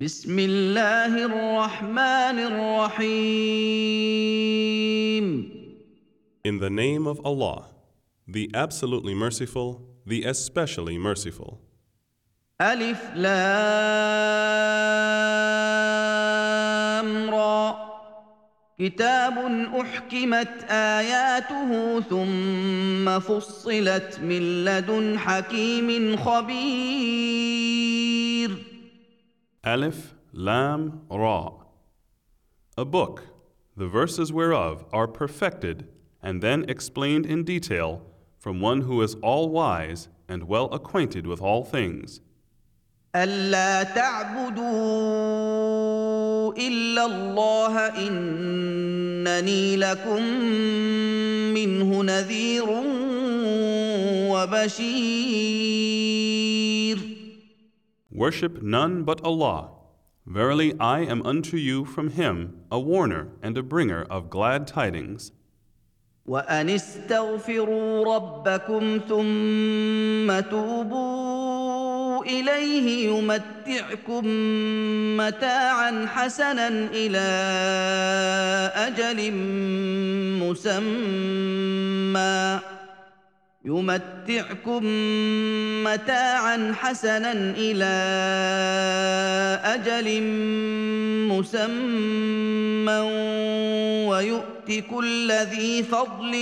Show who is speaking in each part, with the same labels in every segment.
Speaker 1: بسم الله الرحمن الرحيم.
Speaker 2: In the name of Allah, the absolutely merciful, the especially merciful.
Speaker 1: ألف لام را كتاب أحكمت آياته ثم فصلت من لدن حكيم خبير.
Speaker 2: Alif, Lam, Ra. A book, the verses whereof are perfected and then explained in detail from one who is all-wise and well acquainted with all things.
Speaker 1: ألا تعبدوا إلا الله إنني لكم منه نذير وبشير.
Speaker 2: Worship none but Allah. Verily, I am unto you from Him a warner and a bringer of glad tidings.
Speaker 1: وأن استغفروا ربكم ثم توبوا إليه يمتعكم متاعا حسنا إلى أجل مسمى ويؤت كل ذي فضل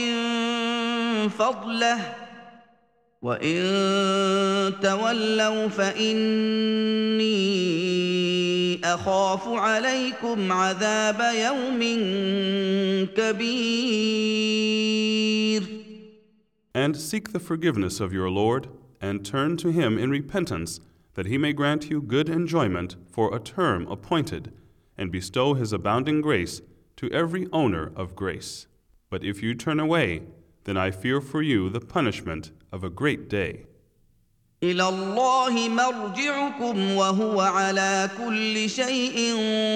Speaker 1: فضله وإن تولوا فإني أخاف عليكم عذاب يوم كبير.
Speaker 2: And seek the forgiveness of your Lord, and turn to Him in repentance, that He may grant you good enjoyment for a term appointed, and bestow His abounding grace to every owner of grace. But if you turn away, then I fear for you the punishment of a great day.
Speaker 1: إلى الله مرجعكم وهو على كل شيء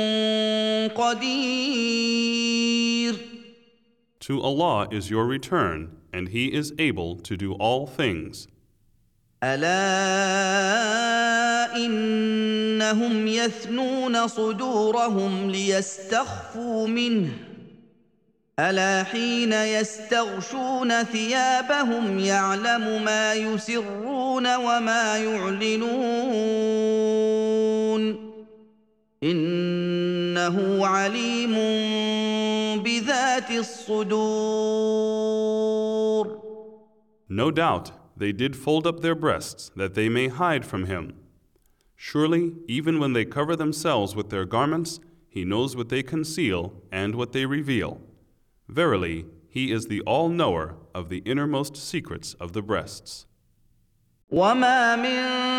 Speaker 1: قدير.
Speaker 2: To Allah is your return, and He is able to do all things.
Speaker 1: ألا إنهم يثنون صدورهم ليستخفوا منه ألا حين يستغشون ثيابهم يعلم ما يسرون وما يعلنون إنه عليم بذات الصدور.
Speaker 2: No doubt they did fold up their breasts that they may hide from Him. Surely, even when they cover themselves with their garments, He knows what they conceal and what they reveal. Verily, He is the all-knower of the innermost secrets of the breasts.
Speaker 1: وما من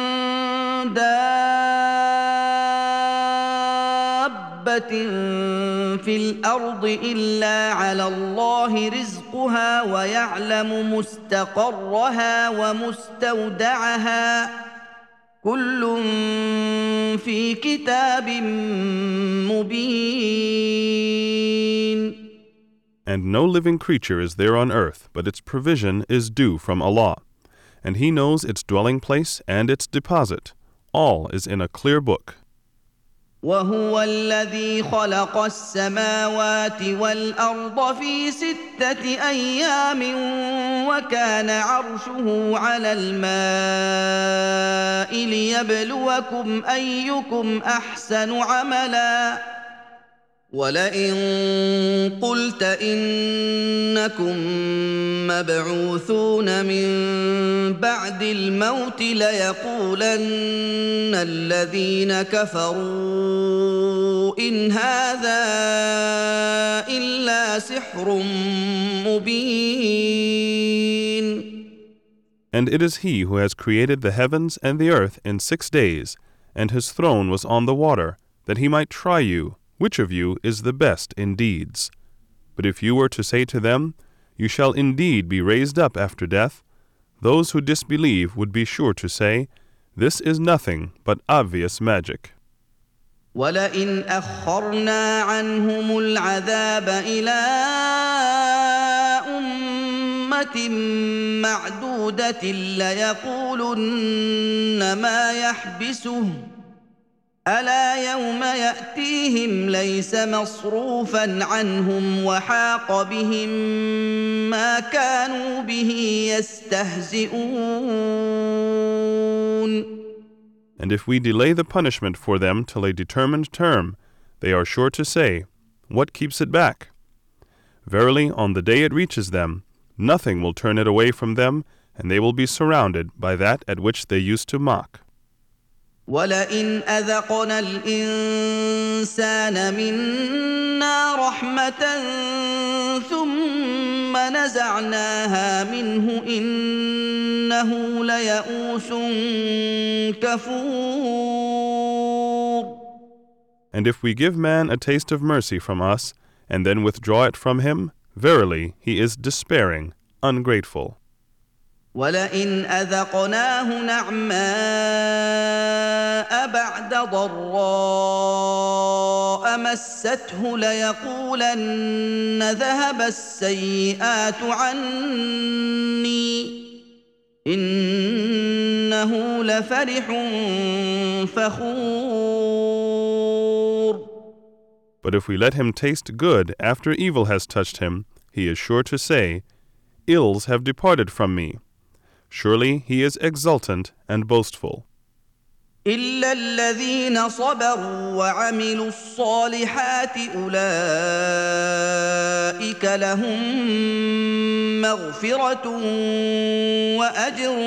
Speaker 1: دابة في الأرض إلا على الله رزقها ويعلم مستقرها ومستودعها كل في كتاب مبين.
Speaker 2: And no living creature is there on earth, but its provision is due from Allah. And He knows its dwelling place and its deposit. All is in a clear book.
Speaker 1: وهو الذي خلق السماوات والأرض في 6 أيام وكان عرشه على الماء ليبلوكم أيكم أحسن عملا ولئن قلت إنكم مبعوثون من بعد الموت ليقولن الذين كفروا إن هذا إلا سحر مبين.
Speaker 2: And it is He who has created the heavens and the earth in 6 days, and His throne was on the water, that He might try you, which of you is the best in deeds. But if you were to say to them, you shall indeed be raised up after death, those who disbelieve would be sure to say, this is nothing but obvious magic.
Speaker 1: ولئن أخرنا عنهم العذاب إلى أمة معدودة ليقولن ما يحبسه ألا يوم يأتيهم ليس مصروفا عنهم وحاق بهم ما كانوا به يستهزئون.
Speaker 2: And if we delay the punishment for them till a determined term, they are sure to say, "What keeps it back?" Verily, on the day it reaches them, nothing will turn it away from them, and they will be surrounded by that at which they used to mock.
Speaker 1: وَلَئِنْ أَذَقْنَا الْإِنسَانَ مِنَّا رَحْمَةً ثُمَّ نَزَعْنَاهَا مِنْهُ إِنَّهُ لَيَئُوسٌ كَفُورٌ.
Speaker 2: And if we give man a taste of mercy from us, and then withdraw it from him, verily he is despairing, ungrateful.
Speaker 1: وَلَئِنْ أَذَقْنَاهُ نَعْمَاءَ بَعْدَ ضَرَّاءَ مَسَّتْهُ لَيَقُولَنَّ ذَهَبَ السَّيِّئَاتُ عَنِّي إِنَّهُ لَفَرِحٌ فَخُورٌ.
Speaker 2: But if we let him taste good after evil has touched him, he is sure to say, "Ills have departed from me." Surely he is exultant and boastful.
Speaker 1: إِلَّا الَّذِينَ صَبَرُوا وَعَمِلُوا الصَّالِحَاتِ أُولَئِكَ لَهُم مَّغْفِرَةٌ وَأَجْرٌ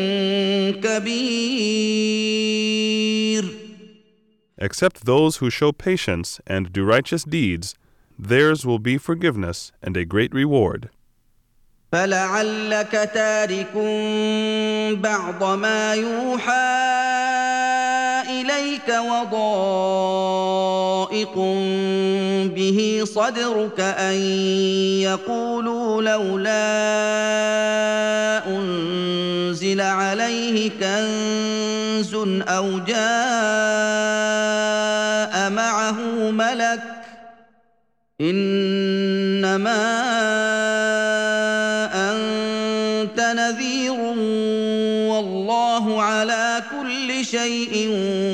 Speaker 1: كَبِيرٌ.
Speaker 2: Except those who show patience and do righteous deeds, theirs will be forgiveness and a great reward.
Speaker 1: فَلَعَلَّكَ تَارِكٌ بَعْضَ مَا يُوحَىٰ إِلَيْكَ وَضَائِقٌ بِهِ صَدْرُكَ أَن يَقُولُوا لَوْلَا أُنزِلَ عَلَيْهِ كَنزٌ أَوْ جَاءَ مَعَهُ مَلَكٌ ۚ إِنَّمَا أَنتَ نَذِيرٌ وَاللَّهُ عَلَىٰ كُلِّ شَيْءٍ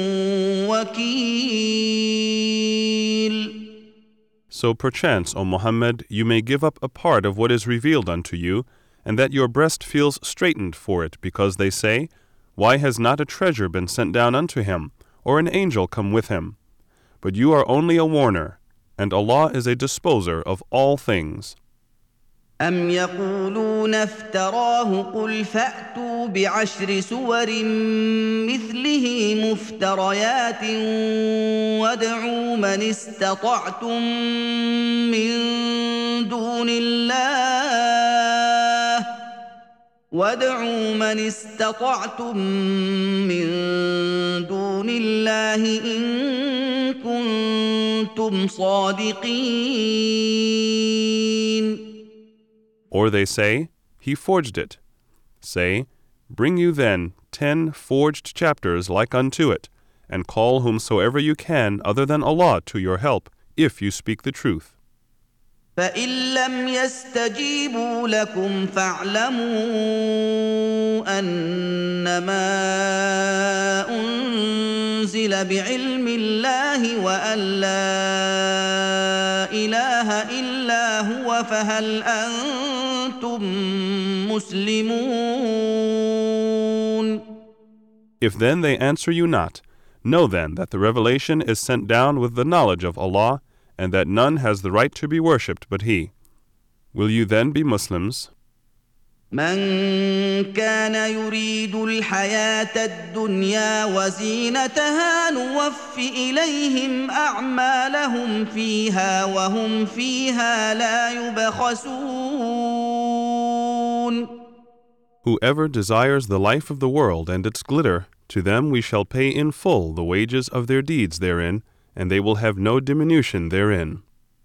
Speaker 1: وَكِيلٌ.
Speaker 2: So perchance, O Muhammad, you may give up a part of what is revealed unto you, and that your breast feels straitened for it, because they say, "Why has not a treasure been sent down unto him, or an angel come with him?" But you are only a warner, and Allah is a disposer of all things.
Speaker 1: أَمْ يَقُولُونَ افْتَرَاهُ قُلْ فَأْتُوا بِعَشْرِ سُوَرٍ مِّثْلِهِ مُفْتَرَيَاتٍ وَادْعُوا مَنِ اسْتَطَعْتُم مِّن دُونِ اللَّهِ إِن كُنتُمْ صَادِقِينَ.
Speaker 2: Or they say, "He forged it." Say, "Bring you then 10 forged chapters like unto it, and call whomsoever you can other than Allah to your help, if you speak the truth."
Speaker 1: فَإِن لَّمْ يَسْتَجِيبُوا لَكُمْ فَاعْلَمُوا أَنَّمَا أُنزِلَ بِعِلْمِ اللَّهِ وَأَن لَّا إِلَٰهَ إِلَّا هُوَ فَهَلْ أَنتُم مُّسْلِمُونَ.
Speaker 2: If then they answer you not, know then that the revelation is sent down with the knowledge of Allah, and that none has the right to be worshipped but He. Will you then be Muslims?
Speaker 1: من كان يريد الحياة الدنيا وزينتها نوف إليهم أعمالهم فيها وهم فيها لا يبخسون.
Speaker 2: Whoever desires the life of the world and its glitter, to them we shall pay in full the wages of their deeds therein, and they will have no diminution therein.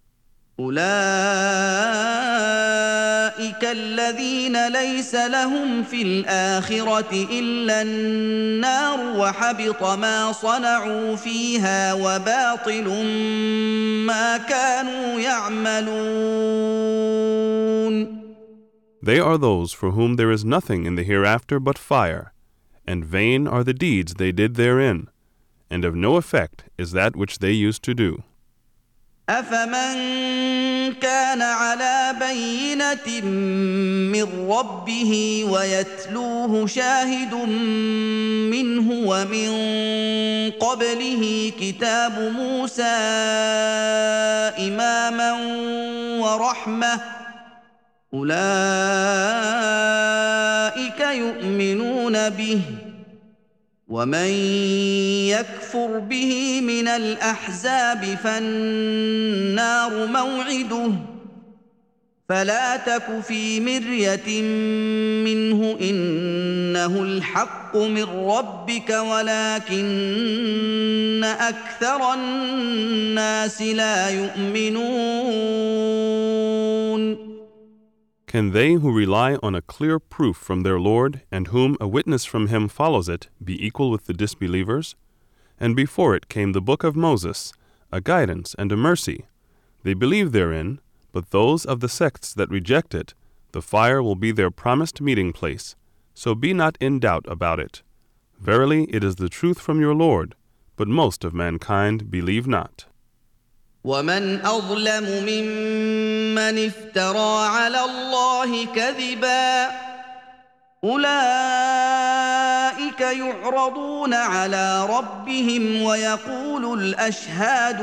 Speaker 1: أولئك الذين ليس لهم في الآخرة إلا النار وحبط ما صنعوا فيها وباطل ما كانوا يعملون.
Speaker 2: They are those for whom there is nothing in the hereafter but fire, and vain are the deeds they did therein, and of no effect is that which they used to do.
Speaker 1: أفمن كان على بينة من ربه ويتلوه شاهد منه ومن قبله كتاب موسى إماما ورحمة أولئك يؤمنون به ومن يكفر به من الأحزاب فالنار موعده فلا تك في مرية منه إنه الحق من ربك ولكن أكثر الناس لا يؤمنون.
Speaker 2: Can they who rely on a clear proof from their Lord, and whom a witness from him follows it, be equal with the disbelievers? And before it came the book of Moses, a guidance and a mercy. They believe therein, but those of the sects that reject it, the fire will be their promised meeting place. So be not in doubt about it. Verily it is the truth from your Lord, but most of mankind believe not.
Speaker 1: ومن أظلم ممن افترى على الله كذبا أولئك يعرضون على ربهم ويقول الأشهاد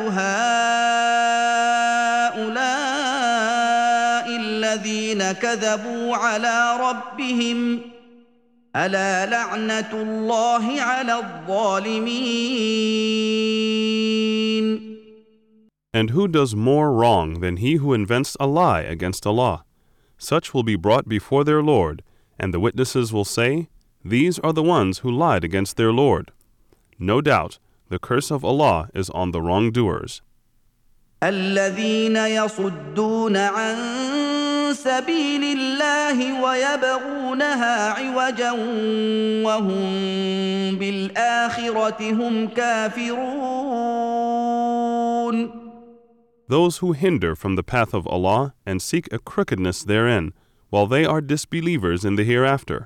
Speaker 1: هؤلاء الذين كذبوا على ربهم ألا لعنة الله على الظالمين.
Speaker 2: And who does more wrong than he who invents a lie against Allah? Such will be brought before their Lord, and the witnesses will say, These are the ones who lied against their Lord. No doubt, the curse of Allah is on the wrongdoers.
Speaker 1: الذين يصدون عن سبيل الله ويبغونها عوجا وهم بالآخرة هم كافرون.
Speaker 2: Those who hinder from the path of Allah and seek a crookedness therein, while they are disbelievers in the hereafter.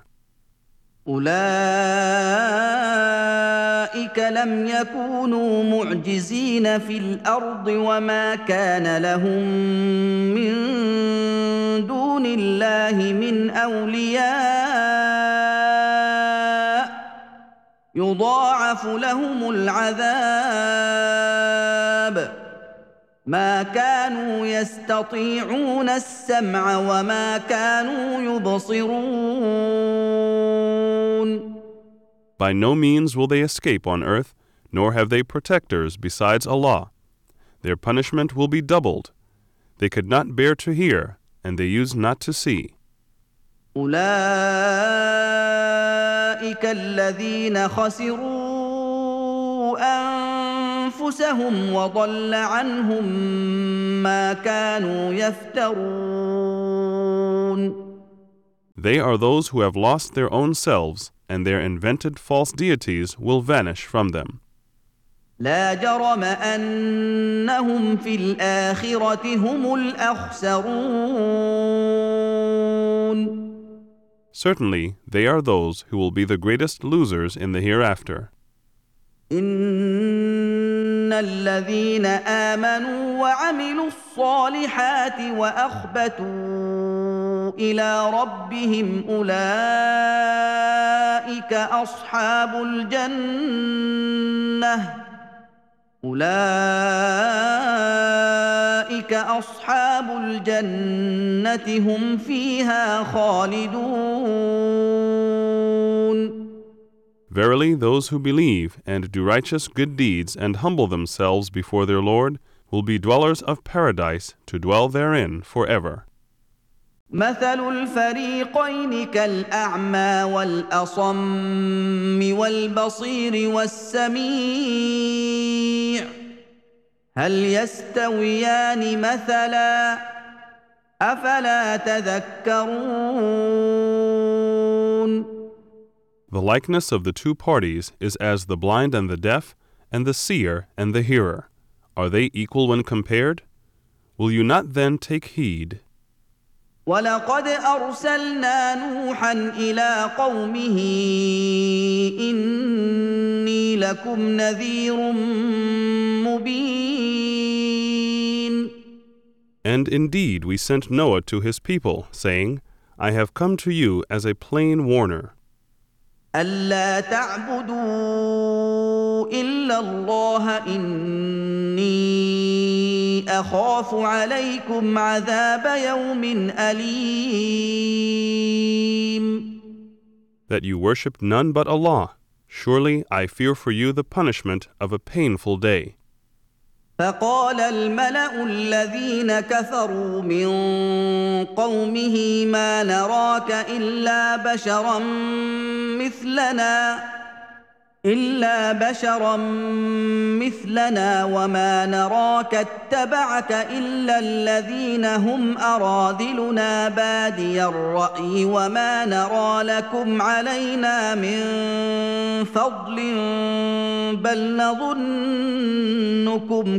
Speaker 1: أولئك لم يكونوا معجزين في الأرض وما كان لهم من دون الله من أولياء يضاعف لهم العذاب ما كانوا يستطيعون السمع وما كانوا يبصرون.
Speaker 2: By no means will they escape on earth, nor have they protectors besides Allah. Their punishment will be doubled. They could not bear to hear, and they used not to see.
Speaker 1: أولئك الذين خسروا أنفسهم وضل عنهم ما كانوا يفترون.
Speaker 2: They are those who have lost their own selves, and their invented false deities will vanish from them.
Speaker 1: لا جرم أنهم في الآخرة هم الأخسرون.
Speaker 2: Certainly, they are those who will be the greatest losers in the hereafter.
Speaker 1: إن الذين آمنوا وعملوا الصالحات وأخبتوا إلى ربهم أولئك أصحاب الجنة هم فيها خالدون.
Speaker 2: Verily, those who believe and do righteous good deeds and humble themselves before their Lord will be dwellers of paradise to dwell therein forever.
Speaker 1: مثل الفريقين كالأعمى والأصم والبصير والسميع هل يستويان مثلا أفلا تذكرون.
Speaker 2: The likeness of the two parties is as the blind and the deaf, and the seer and the hearer. Are they equal when compared? Will you not then take heed?
Speaker 1: ولقد أرسلنا نوحا إلى قومه إني لكم نذير مبين.
Speaker 2: And indeed we sent Noah to his people, saying, I have come to you as a plain warner.
Speaker 1: ألا تعبدوا إلا الله إني أخاف عليكم عذاب يوم أليم.
Speaker 2: That you worship none but Allah. Surely I fear for you the punishment of a painful day.
Speaker 1: فقال الملأ الذين كفروا من قومه ما نراك إلا بشرا مثلنا وما نراك اتبعك إلا الذين هم أراذلنا بادي الرأي وما نرى لكم علينا من فضل بل نظنكم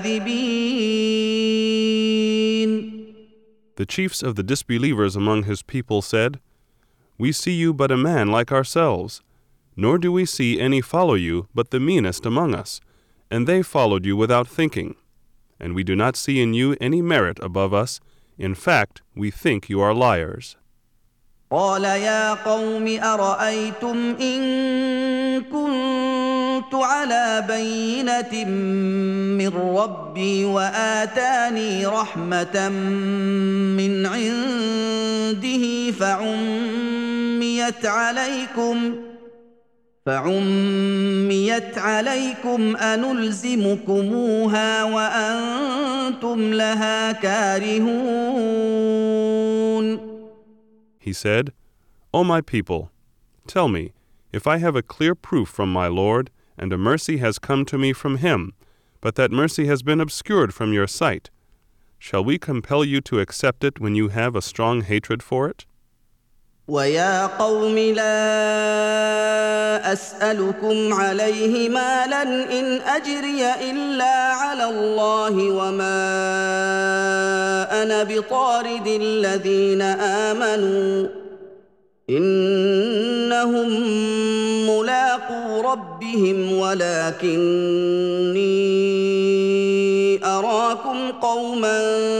Speaker 1: كاذبين.
Speaker 2: The chiefs of the disbelievers among his people said, We see you but a man like ourselves, nor do we see any follow you but the meanest among us, and they followed you without thinking. And we do not see in you any merit above us. In fact, we think you are liars.
Speaker 1: قال يا قوم أرأيتم إن كنت على بينة من ربي وآتاني رحمة من عنده فعميت عليكم أنلزمكموها وأنتم لها كارهون.
Speaker 2: He said, O my people, tell me, if I have a clear proof from my Lord, and a mercy has come to me from him, but that mercy has been obscured from your sight, shall we compel you to accept it when you have a strong hatred for it?
Speaker 1: وَيَا قَوْمِ لَا أَسْأَلُكُمْ عَلَيْهِ مَالًا إِنْ أَجْرِيَ إِلَّا عَلَى اللَّهِ وَمَا أَنَا بِطَارِدِ الَّذِينَ آمَنُوا إِنَّهُمْ مُلَاقُو رَبِّهِمْ وَلَكِنِّي أَرَاكُمْ قَوْمًا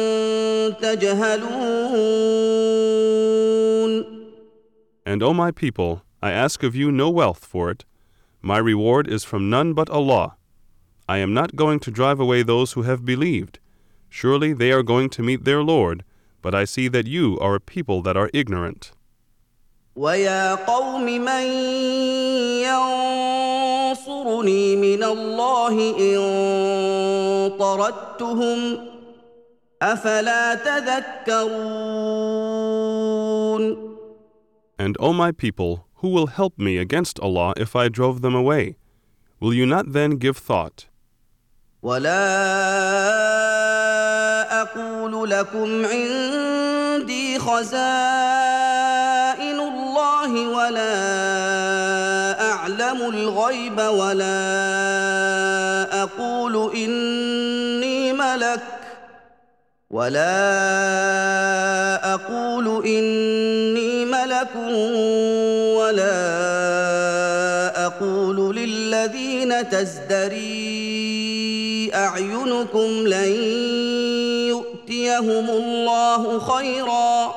Speaker 1: تَجْهَلُونَ.
Speaker 2: And, O my people, I ask of you no wealth for it. My reward is from none but Allah. I am not going to drive away those who have believed. Surely they are going to meet their Lord, but I see that you are a people that are ignorant.
Speaker 1: وَيَا قَوْمِ مَنْ يَنْصُرُنِي مِنَ اللَّهِ إِنْ طَرَدتُّهُمْ أَفَلَا تَذَكَّرُونَ.
Speaker 2: And, O my people, who will help me against Allah if I drove them away? Will you not then give thought?
Speaker 1: وَلَا أَقُولُ لَكُمْ عِنْدِي خَزَائِنُ اللَّهِ وَلَا أَعْلَمُ الْغَيْبَ وَلَا أَقُولُ إِنِّي مَلَكٌ وَلَا أَقُولُ لِلَّذِينَ تَزْدَرِي أَعْيُنُكُمْ لَن يُؤْتِيَهُمُ الله خَيْرًا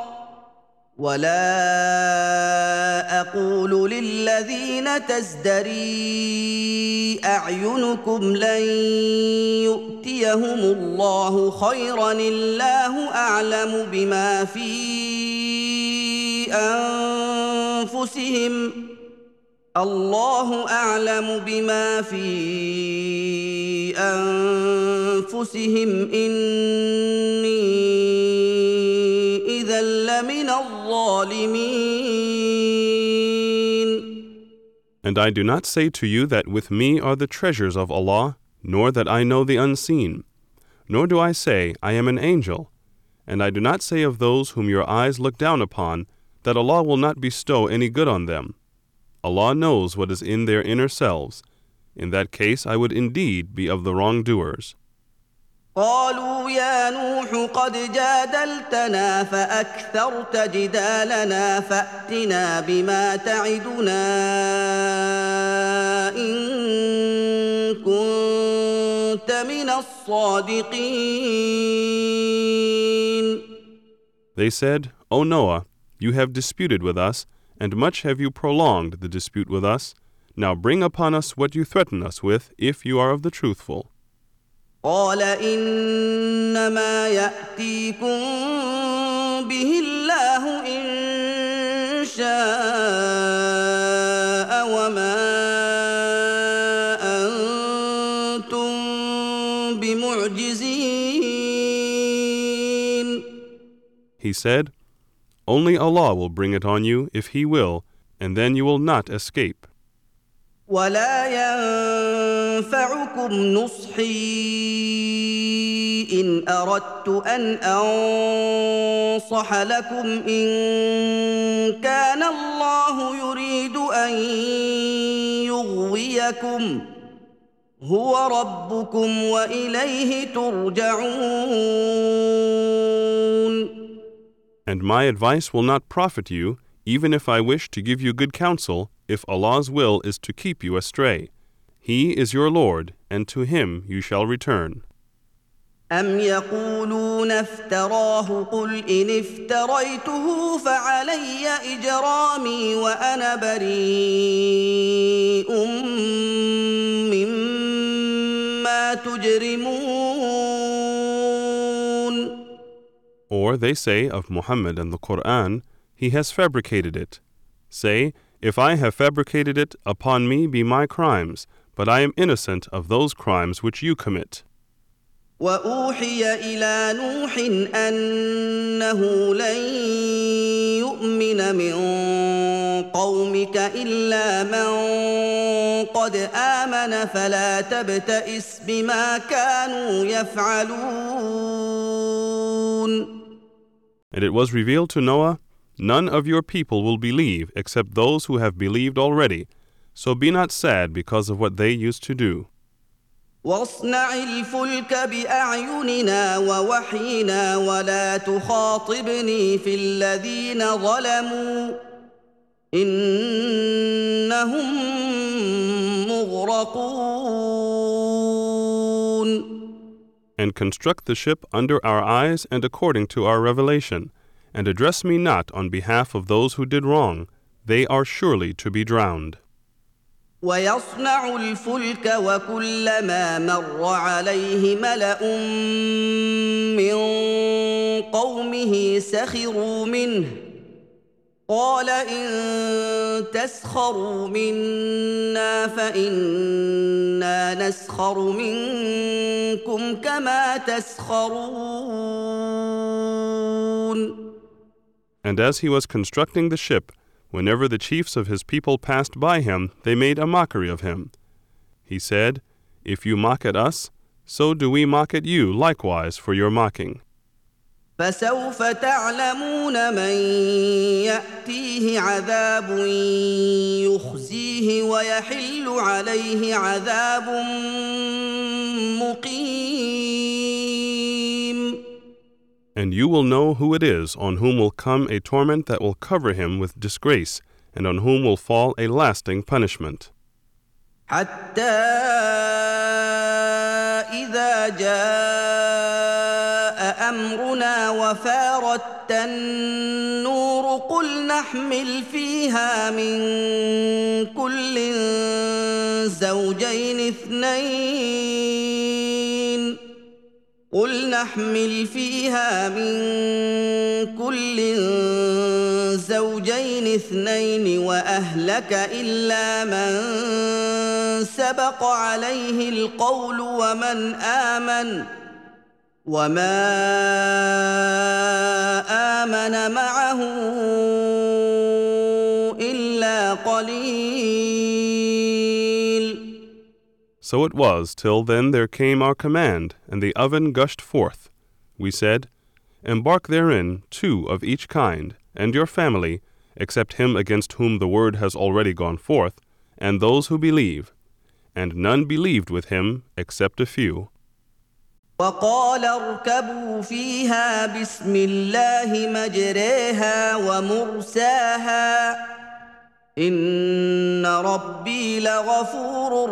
Speaker 1: الله أعلم بما في أنفسهم إني إذا لمن الظالمين.
Speaker 2: And I do not say to you that with me are the treasures of Allah, nor that I know the unseen. Nor do I say, I am an angel. And I do not say of those whom your eyes look down upon, that Allah will not bestow any good on them. Allah knows what is in their inner selves. In that case I would indeed be of the wrongdoers.
Speaker 1: قالوا يا نوح قد جادلتنا فأكثرت جدالنا فأتنا بما تعدنا إن كنت من الصادقين.
Speaker 2: They said, O Noah, you have disputed with us, and much have you prolonged the dispute with us. Now bring upon us what you threaten us with, if you are of the truthful.
Speaker 1: قال إنما يأتيكم به الله إن شاء وما أنتم بمعجزين.
Speaker 2: He said, Only Allah will bring it on you, if He will, and then you will not escape.
Speaker 1: ولا ينفعكم نصحي إن أردت أن أنصح لكم إن كان الله يريد أن يغويكم هو ربكم وإليه ترجعون.
Speaker 2: And my advice will not profit you, even if I wish to give you good counsel, if Allah's will is to keep you astray. He is your Lord, and to Him you shall return.
Speaker 1: أم يقولون افتراه قل إن افتريته فعلي إجرامي وأنا بريء مما تجرمون.
Speaker 2: Or they say of Muhammad and the Quran, he has fabricated it. Say, if I have fabricated it, upon me be my crimes, but I am innocent of those crimes which you commit.
Speaker 1: وأوحي إلى نوح أنه لن يؤمن من قومك إلا من قد آمن فلا تبتئس بما كانوا يفعلون.
Speaker 2: And it was revealed to Noah, none of your people will believe except those who have believed already, so be not sad because of what they used to do.
Speaker 1: واصنع الفلك بأعيننا ووحينا ولا تخاطبني في الذين ظلموا إنهم مغرقون.
Speaker 2: And construct the ship under our eyes and according to our revelation, and address me not on behalf of those who did wrong. They are surely to be drowned.
Speaker 1: ويصنع الفلك وكلما مر عليه ملأ من قومه سخروا منه قال إن تسخروا منا فإنا نسخر منكم كما تسخرون.
Speaker 2: And as he was constructing the ship, whenever the chiefs of his people passed by him, they made a mockery of him. He said, If you mock at us, so do we mock at you likewise for your mocking.
Speaker 1: فسوف تعلمون من يأتيه عذاب يخزيه ويحل عليه عذاب مقيم.
Speaker 2: And you will know who it is on whom will come a torment that will cover him with disgrace, and on whom will fall a lasting punishment.
Speaker 1: حتى إذا جاء أمرنا وفارت النور قل نحمل فيها من كل زوجين اثنين وأهلك إلا من سبق عليه القول وما آمن معه إلا قليل.
Speaker 2: So it was till then there came our command, and the oven gushed forth. We said, Embark therein 2 of each kind, and your family, except him against whom the word has already gone forth, and those who believe. And none believed with him except a few.
Speaker 1: وقال اركبوا فيها بسم الله مجريها ومرساها إن ربي لغفور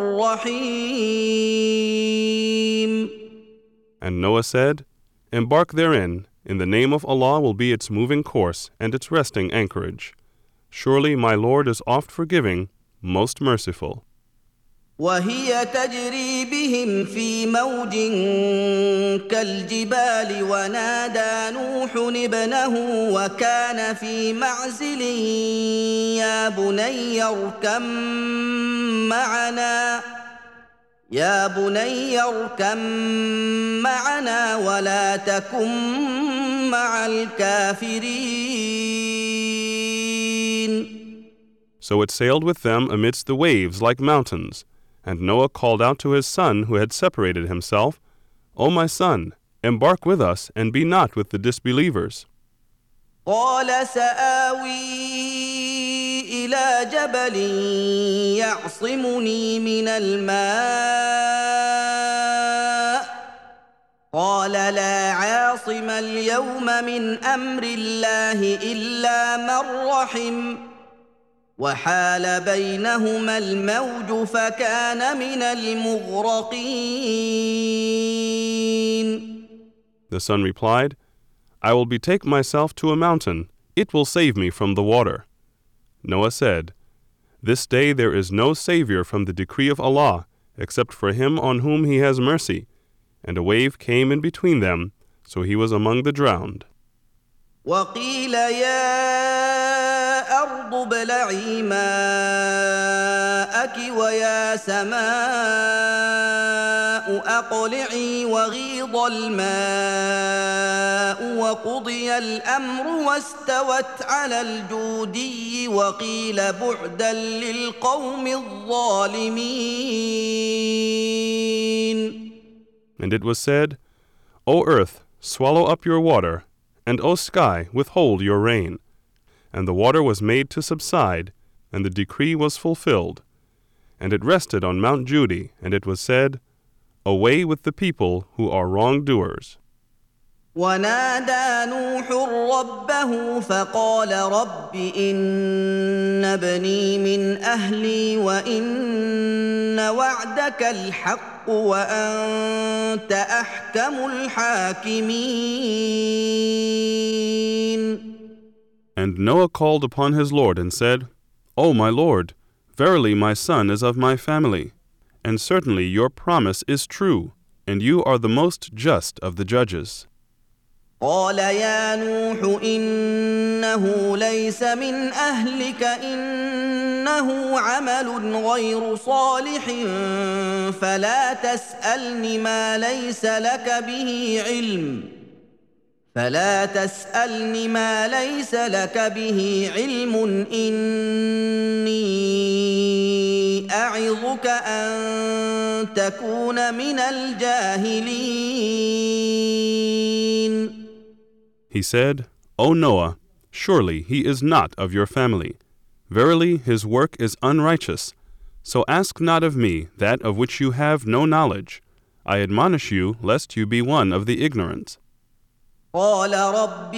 Speaker 1: رحيم.
Speaker 2: And Noah said, Embark therein, in the name of Allah will be its moving course and its resting anchorage. Surely my Lord is oft forgiving, most merciful.
Speaker 1: وهي تجري بهم في موج كالجبال ونادى نوح ابنه وكان في معزل يا بني اركم معنا ولا تكن مع الكافرين.
Speaker 2: So it sailed with them amidst the waves like mountains. And Noah called out to his son who had separated himself, O my son, embark with us and be not with the disbelievers.
Speaker 1: قال سآوي إلى جبل يعصمني من الماء قال لا عاصم اليوم من أمر الله إلا من رحم وحال بينهما الموج فكان من المغرقين.
Speaker 2: The son replied, I will betake myself to a mountain. It will save me from the water. Noah said, This day there is no savior from the decree of Allah, except for him on whom he has mercy. And a wave came in between them, so he was among the drowned.
Speaker 1: وقيل يا أرض ابلعي ماءك ويا سماء أقلعي وغيض الماء وقضي الأمر واستوت على الجودي وقيل بعدا للقوم الظالمين.
Speaker 2: And it was said, O earth, swallow up your water, and O sky, withhold your rain. And the water was made to subside, and the decree was fulfilled. And it rested on Mount Judy, and it was said, Away with the people who are wrongdoers.
Speaker 1: ونادى نوح ربه فقال رب إن ابني من أهلي وإن وعدك الحق وأنت أحكم الحاكمين.
Speaker 2: And Noah called upon his Lord and said, O my Lord, verily my son is of my family, and certainly your promise is true, and you are the most just of the judges.
Speaker 1: قال يا نوح إنه ليس من أهلك إنه عمل غير صالح فلا تسألني ما ليس لك به علم إني أعظك أن تكون من الجاهلين.
Speaker 2: He said, O Noah, surely he is not of your family. Verily his work is unrighteous. So ask not of me that of which you have no knowledge. I admonish you lest you be one of the ignorant.
Speaker 1: قال رب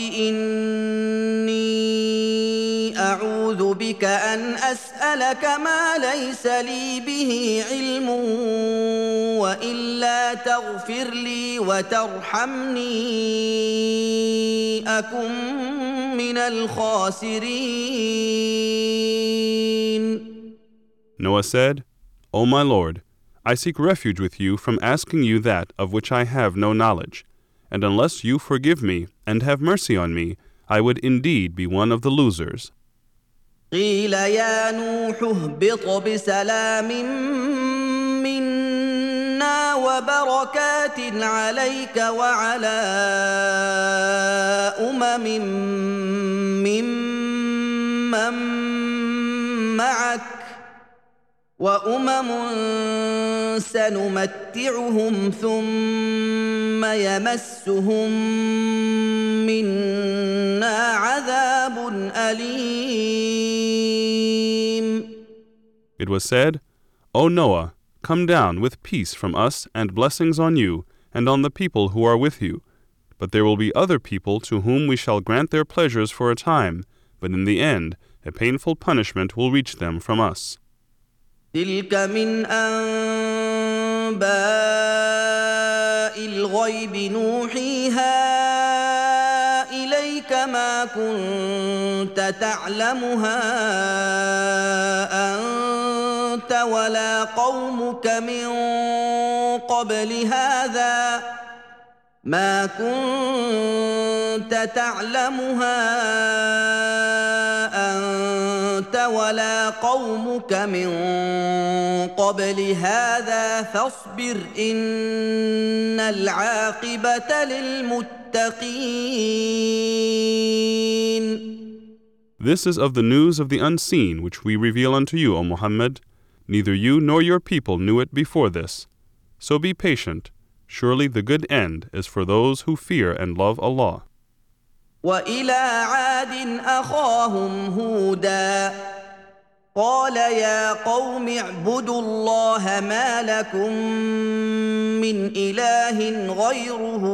Speaker 1: إني أعوذ بك أن أسألك ما ليس لي به علم وإلا تغفر لي وترحمني أكن من الخاسرين.
Speaker 2: Noah said, O my Lord, I seek refuge with you from asking you that of which I have no knowledge. And unless you forgive me and have mercy on me, I would indeed be one of the losers.
Speaker 1: قيل يا نوح اهبط بسلام منا وبركات عليك وعلى ممن معك وأمم سنمتعهم ثم يمسهم منا عذاب أليم.
Speaker 2: It was said, O Noah, come down with peace from us and blessings on you, and on the people who are with you. But there will be other people to whom we shall grant their pleasures for a time, but in the end a painful punishment will reach them from us.
Speaker 1: تلك من أنباء الغيب نوحيها إليك ما كنت تعلمها أنت ولا قومك من قبل هذا ما كنت تعلمها أنت ولا قومك من قبل هذا فاصبر إن العاقبة للمتقين.
Speaker 2: This is of the news of the unseen which we reveal unto you, O Muhammad. Neither you nor your people knew it before this. So be patient. Surely the good end is for those who fear and love Allah.
Speaker 1: وإلى عاد أخاهم هودا قال يا قوم اعبدوا الله ما لكم من إله غيره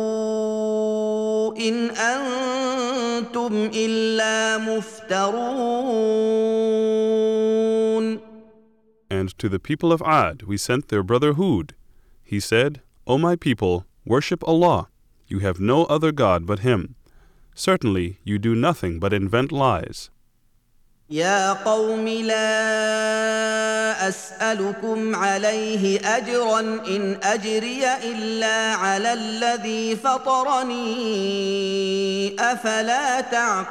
Speaker 1: إن أنتم إلا مفترون.
Speaker 2: And to the people of Ad we sent their brother Hud. He said, O my people, worship Allah. You have no other God but Him. Certainly you do nothing but invent lies.
Speaker 1: يا قوم لا أسألكم عليه أجرا إن أجري إلا على الذي فطرني أفلا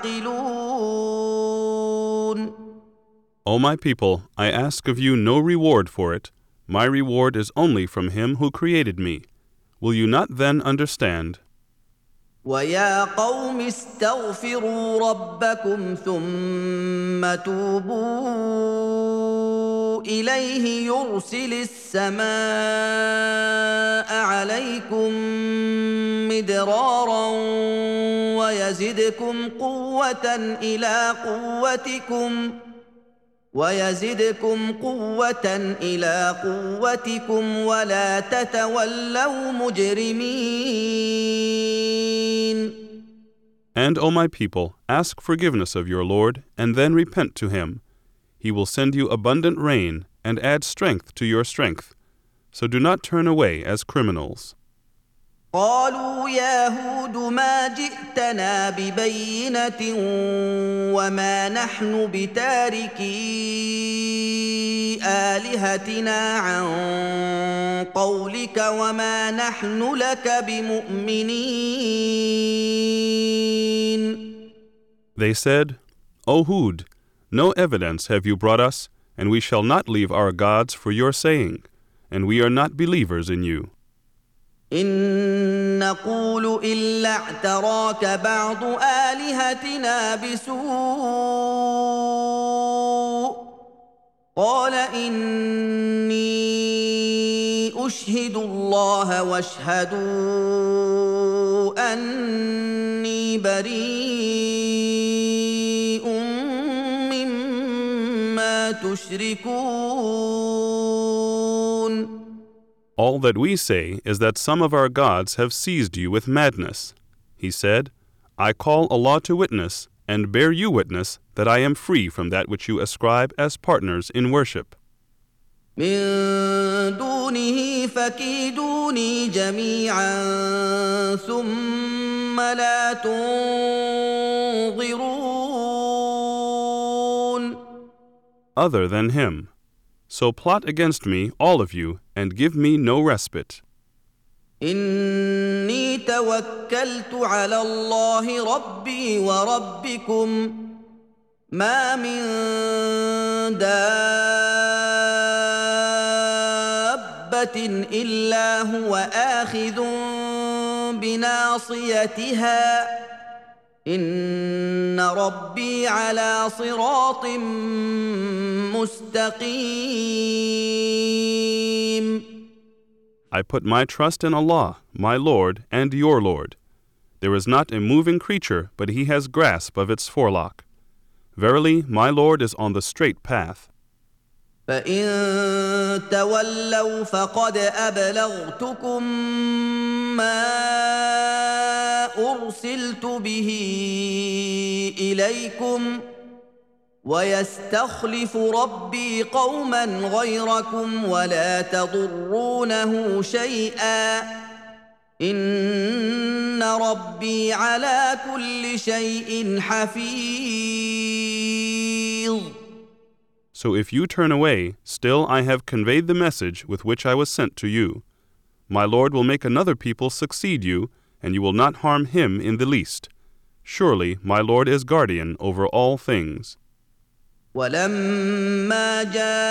Speaker 1: تعقلون.
Speaker 2: O my people, I ask of you no reward for it. My reward is only from Him who created me. Will you not then understand?
Speaker 1: ويا قوم استغفروا ربكم ثم توبوا إليه يرسل السماء عليكم مدرارا ويزدكم قوة إلى قوتكم ولا تتولوا مجرمين.
Speaker 2: And, O my people, ask forgiveness of your Lord, and then repent to Him. He will send you abundant rain, and add strength to your strength. So do not turn away as criminals.
Speaker 1: قالوا يا هود ما جئتنا ببينة وما نحن بتاركي آلهتنا عن قولك وما نحن لك بمؤمنين.
Speaker 2: They said, O Hud, no evidence have you brought us, and we shall not leave our gods for your saying, and we are not believers in you.
Speaker 1: إن نقول إلا اعتراك بعض آلهتنا بسوء قال إني أشهد الله واشهدوا أني بريء مما تشركون.
Speaker 2: All that we say is that some of our gods have seized you with madness. He said, I call Allah to witness, and bear you witness, that I am free from that which you ascribe as partners in worship.
Speaker 1: من دونه فكيدوني جميعا ثم لا تنظرون.
Speaker 2: Other than Him. So plot against me, all of you, and give me no respite.
Speaker 1: إني توكلت على الله ربي وربكم ما من دابة إلا هو آخذ بناصيتها إن ربي على صراط مستقيم.
Speaker 2: I put my trust in Allah, my Lord and your Lord. There is not a moving creature, but He has grasp of its forelock. Verily, my Lord is on the straight path.
Speaker 1: فإن تولوا فقد أبلغتكم ما أرسلت به إليكم ويستخلف ربي قوما غيركم ولا تضرونه شيئا إن ربي على كل شيء حفيظ.
Speaker 2: So if you turn away, still I have conveyed the message with which I was sent to you. My Lord will make another people succeed you, and you will not harm him in the least. Surely my Lord is guardian over all things.
Speaker 1: ولما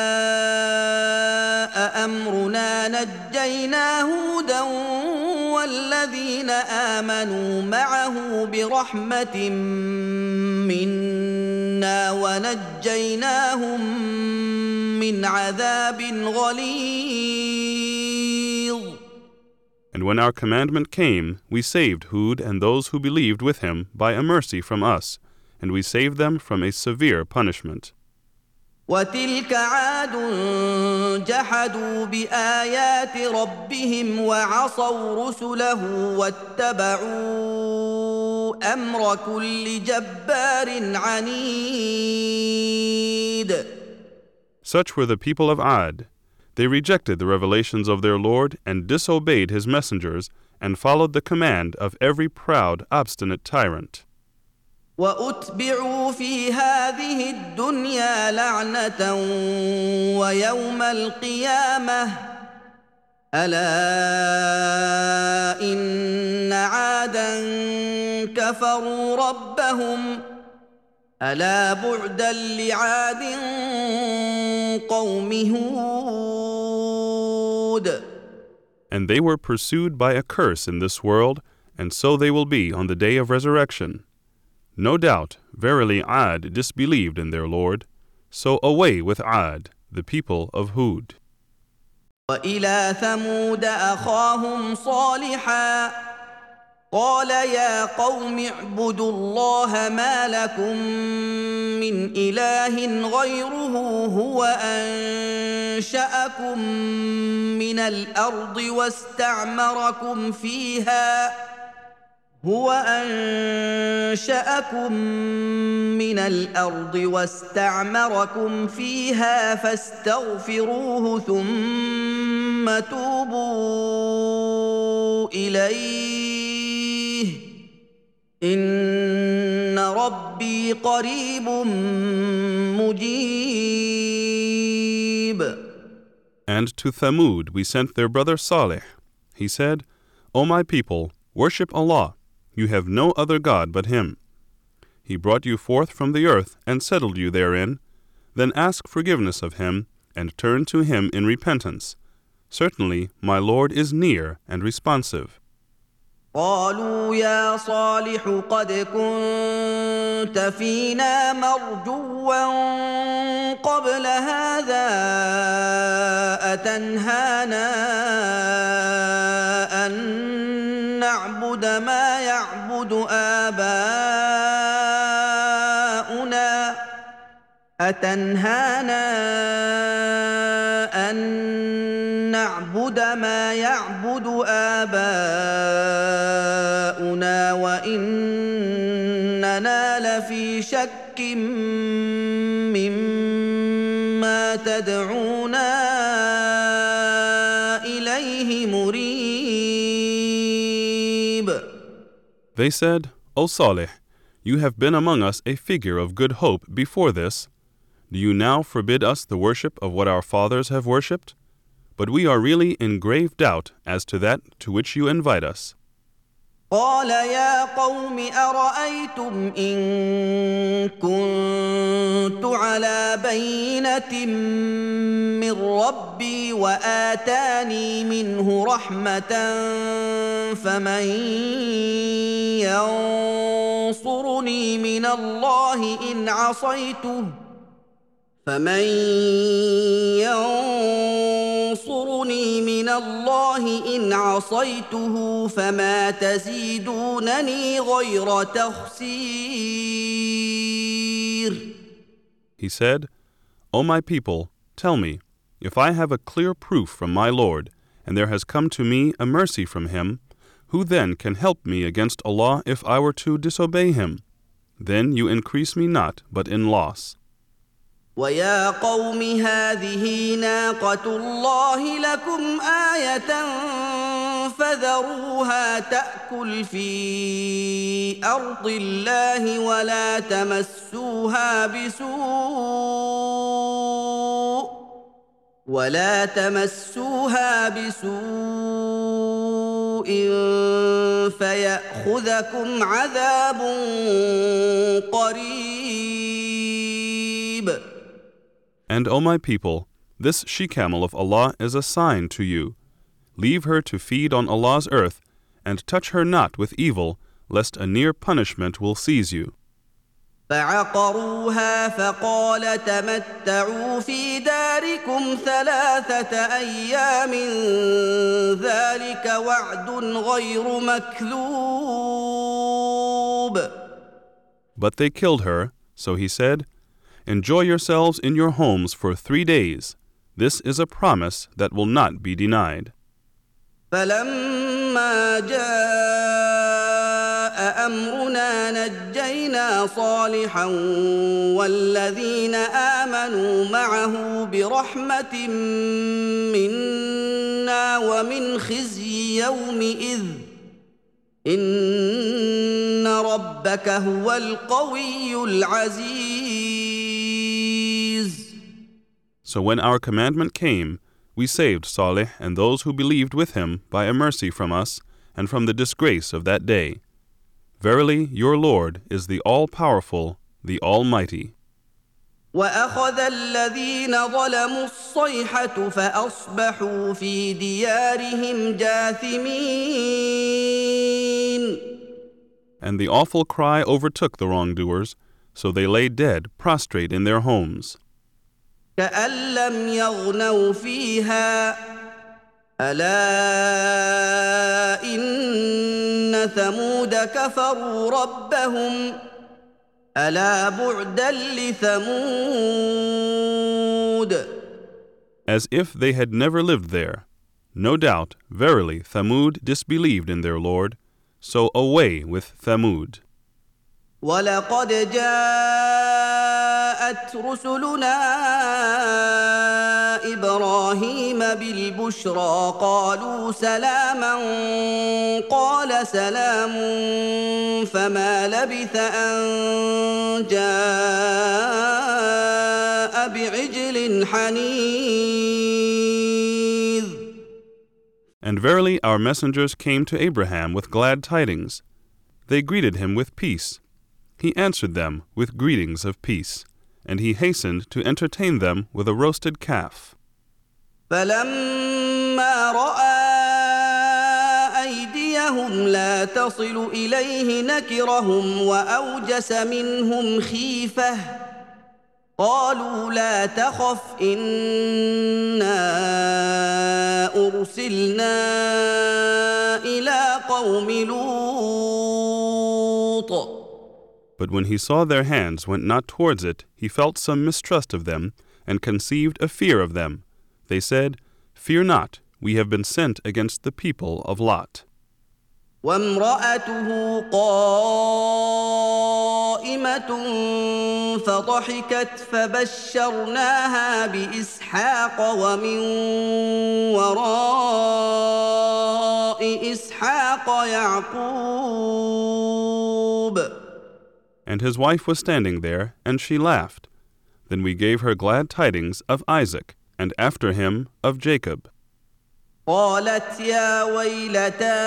Speaker 1: جاء أمرنا نجينا هودا والذين آمنوا معه برحمة منا ونجيناهم من عذاب غليظ.
Speaker 2: And when our commandment came, we saved Hud and those who believed with him by a mercy from us, and we saved them from a severe punishment.
Speaker 1: وتلك عاد جحدوا بآيات ربهم وعصوا رسله واتبعوا أمر كل جبار عنيد.
Speaker 2: Such were the people of Ad. They rejected the revelations of their Lord and disobeyed his messengers and followed the command of every proud, obstinate tyrant.
Speaker 1: وأتبعوا في هذه الدنيا لعنة ويوم القيامة ألا إن عادا كفروا ربهم ألا بعدا لعاد قوم هود.
Speaker 2: And they were pursued by a curse in this world, and so they will be on the day of resurrection. No doubt, verily Ad disbelieved in their Lord. So away with Ad, the people of Hud.
Speaker 1: وإلى ثمود أخاهم صالحا قال يا قوم اعبدوا الله ما لكم من إله غيره هو أنشأكم من الأرض واستعمركم فيها فاستغفروه ثم توبوا إليه إن ربي قريب مجيب.
Speaker 2: And to Thamud we sent their brother Salih. He said, O my people, worship Allah. You have no other God but Him. He brought you forth from the earth and settled you therein. Then ask forgiveness of Him and turn to Him in repentance. Certainly my Lord is near and responsive.
Speaker 1: قالوا يا صالح قد كنت فينا مرجوا قبل هذا أتنهانا أن نعبد ما يعبد آباؤنا وإننا لفي شك مما تدعونا إليه مريب.
Speaker 2: They said, O Salih, you have been among us a figure of good hope before this. Do you now forbid us the worship of what our fathers have worshipped? But we are really in grave doubt as to that to which you invite us.
Speaker 1: قال يا قوم أرأيتم إن كنت على بينة من ربي وآتاني منه رحمة فمن ينصرني من الله إن عصيته فما تزيدونني غير تخسير.
Speaker 2: He said, O my people, Tell me, if I have a clear proof from my Lord, and there has come to me a mercy from him, who then can help me against Allah if I were to disobey him? Then you increase me not but in loss.
Speaker 1: وَيَا قَوْمِ هَٰذِهِ نَاقَةُ اللَّهِ لَكُمْ آيَةً فَذَرُوهَا تَأْكُلْ فِي أَرْضِ اللَّهِ وَلَا تَمَسُّوهَا بِسُوءٍ فَيَأْخُذَكُمْ عَذَابٌ قَرِيبٌ.
Speaker 2: And, O my people, this she-camel of Allah is a sign to you. Leave her to feed on Allah's earth, and touch her not with evil, lest a near punishment will seize you.
Speaker 1: فَعَقَرُوهَا فَقَالَ تَمَتَّعُوا فِي دَارِكُمْ 3 أَيَّامٍ ذَلِكَ وَعْدٌ غَيْرُ مَكْذُوبٍ.
Speaker 2: But they killed her, so he said, Enjoy yourselves in your homes for 3 days. This is a promise that will not be denied.
Speaker 1: فَلَمَّا جَاءَ أَمْرُنَا نَجَّيْنَا صَالِحًا وَالَّذِينَ آمَنُوا مَعَهُ بِرَحْمَةٍ مِّنَّا وَمِنْ خِزْيِ يَوْمِئِذٍ إِنَّ رَبَّكَ هُوَ الْقَوِيُّ الْعَزِيزُ.
Speaker 2: So when our commandment came, we saved Salih and those who believed with him by a mercy from us and from the disgrace of that day. Verily, your Lord is the All-Powerful, the Almighty.
Speaker 1: وَأَخَذَ الَّذِينَ ظَلَمُوا الصَّيْحَةُ فَأَصْبَحُوا فِي دِيَارِهِمْ جَاثِمِينَ.
Speaker 2: And the awful cry overtook the wrongdoers, so they lay dead, prostrate in their homes.
Speaker 1: كَأَن لَّمْ يَغْنَوْا فِيهَا أَلَا إِنَّ ثَمُودَ كَفَرُوا رَبَّهُمْ أَلَا بُعْدًا لِثَمُودَ.
Speaker 2: As if they had never lived there. No doubt, verily, Thamud disbelieved in their Lord, so away with Thamud.
Speaker 1: وَلَقَدْ جَاءَتْ رُسُلُنَا إِبْرَاهِيمَ بِالْبُشْرَىٰ قَالُوا سَلَامًا قَالَ سَلَامٌ فَمَا لَبِثَ أَن جَاءَ بِعِجْلٍ حَنِيذٍ.
Speaker 2: And verily our messengers came to Abraham with glad tidings. They greeted him with peace. He answered them with greetings of peace, and he hastened to entertain them with a roasted calf.
Speaker 1: فَلَمَّا رَأَىٰ أَيْدِيَهُمْ لَا تَصِلُ إِلَيْهِ نَكِرَهُمْ وَأَوْجَسَ مِنْهُمْ خِيفَةً قَالُوا لَا تَخَفْ إِنَّا أُرْسِلْنَا إِلَىٰ قَوْمِ لُوطٍ.
Speaker 2: But when he saw their hands went not towards it, he felt some mistrust of them, and conceived a fear of them. They said, Fear not, we have been sent against the people of Lot.
Speaker 1: وَامْرَأَتُهُ قَائِمَةٌ فَضَحِكَتْ فَبَشَّرْنَاهَا بِإِسْحَاقَ وَمِن وَرَاءِ إِسْحَاقَ يَعْقُوبَ.
Speaker 2: And his wife was standing there, and she laughed. Then we gave her glad tidings of Isaac, and after him of Jacob.
Speaker 1: قالت يا ويلتى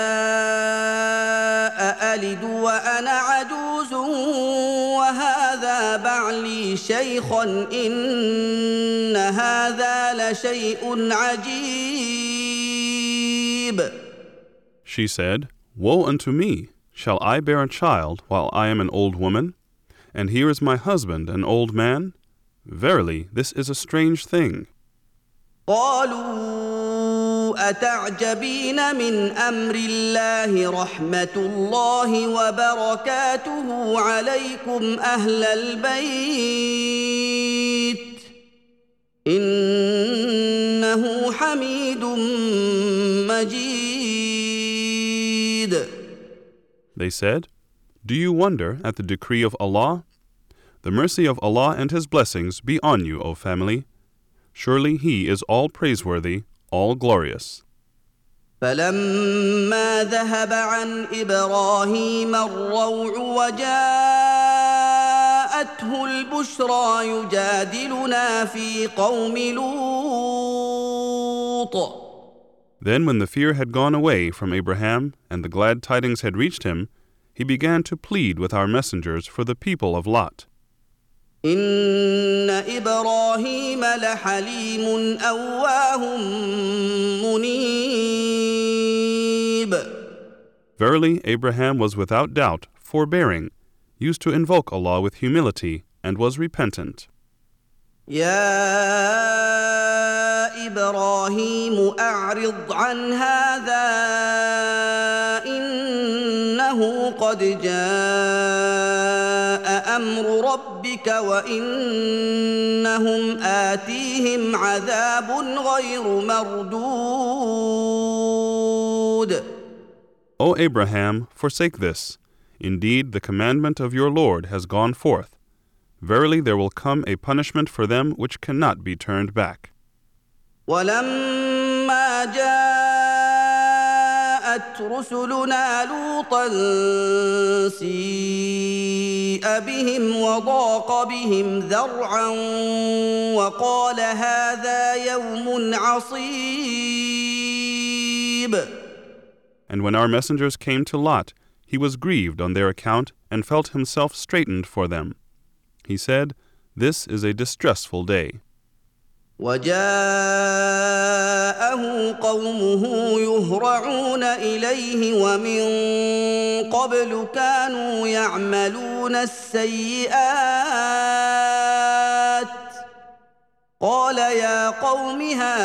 Speaker 1: أألد وأنا عجوز وهذا بعلي شيخا إن هذا لشيء عجيب.
Speaker 2: She said, Woe unto me! Shall I bear a child while I am an old woman? And here is my husband, an old man? Verily, this is a strange thing.
Speaker 1: قالوا أتعجبين من أمر الله رحمة الله وبركاته عليكم أهل البيت إنه حميد مجيد.
Speaker 2: They said, "Do you wonder at the decree of Allah? The mercy of Allah and His blessings be on you, O family. Surely He is all praiseworthy, all glorious."
Speaker 1: فلما ذهب عن إبراهيم الروع وجاءته البشرى يجادلنا في قوم لوط.
Speaker 2: Then when the fear had gone away from Abraham and the glad tidings had reached him, he began to plead with our messengers for the people of Lot.
Speaker 1: إن إبراهيم لحليم أواه منيب.
Speaker 2: Verily, Abraham was without doubt forbearing, used to invoke Allah with humility, and was repentant.
Speaker 1: يا إبراهيم أعرض عن هذا إنه قد جاء أمر ربك وإنهم آتيهم عذاب غير مردود.
Speaker 2: O Abraham, forsake this. Indeed, the commandment of your Lord has gone forth. Verily, there will come a punishment for them which cannot be turned back.
Speaker 1: ولما جاءت رسلنا لوطا سيء بهم وضاق بهم ذرعا وقال هذا يوم عصيب.
Speaker 2: And when our messengers came to Lot, he was grieved on their account and felt himself straitened for them. He said, "This is a distressful day."
Speaker 1: وجاءه قومه يهرعون إليه ومن قبل كانوا يعملون السيئات قال يا قوم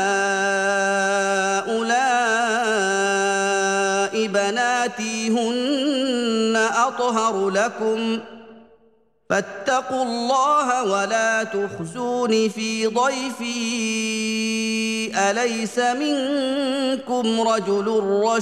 Speaker 1: هؤلاء بناتي هن أطهر لكم فاتقوا الله ولا تخزوني في ضيفي أليس منكم رجل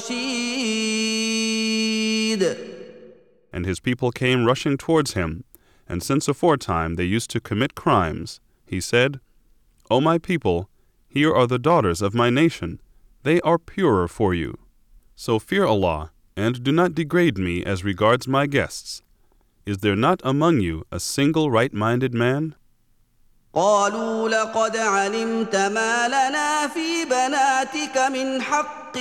Speaker 1: رشيد.
Speaker 2: And his people came rushing towards him, and since aforetime they used to commit crimes, he said, "O my people, here are the daughters of my nation. They are purer for you. So fear Allah, and do not degrade me as regards my guests. Is there not among you a single right-minded man?"
Speaker 1: قالوا لقد علمت ما لنا في بناتك من حق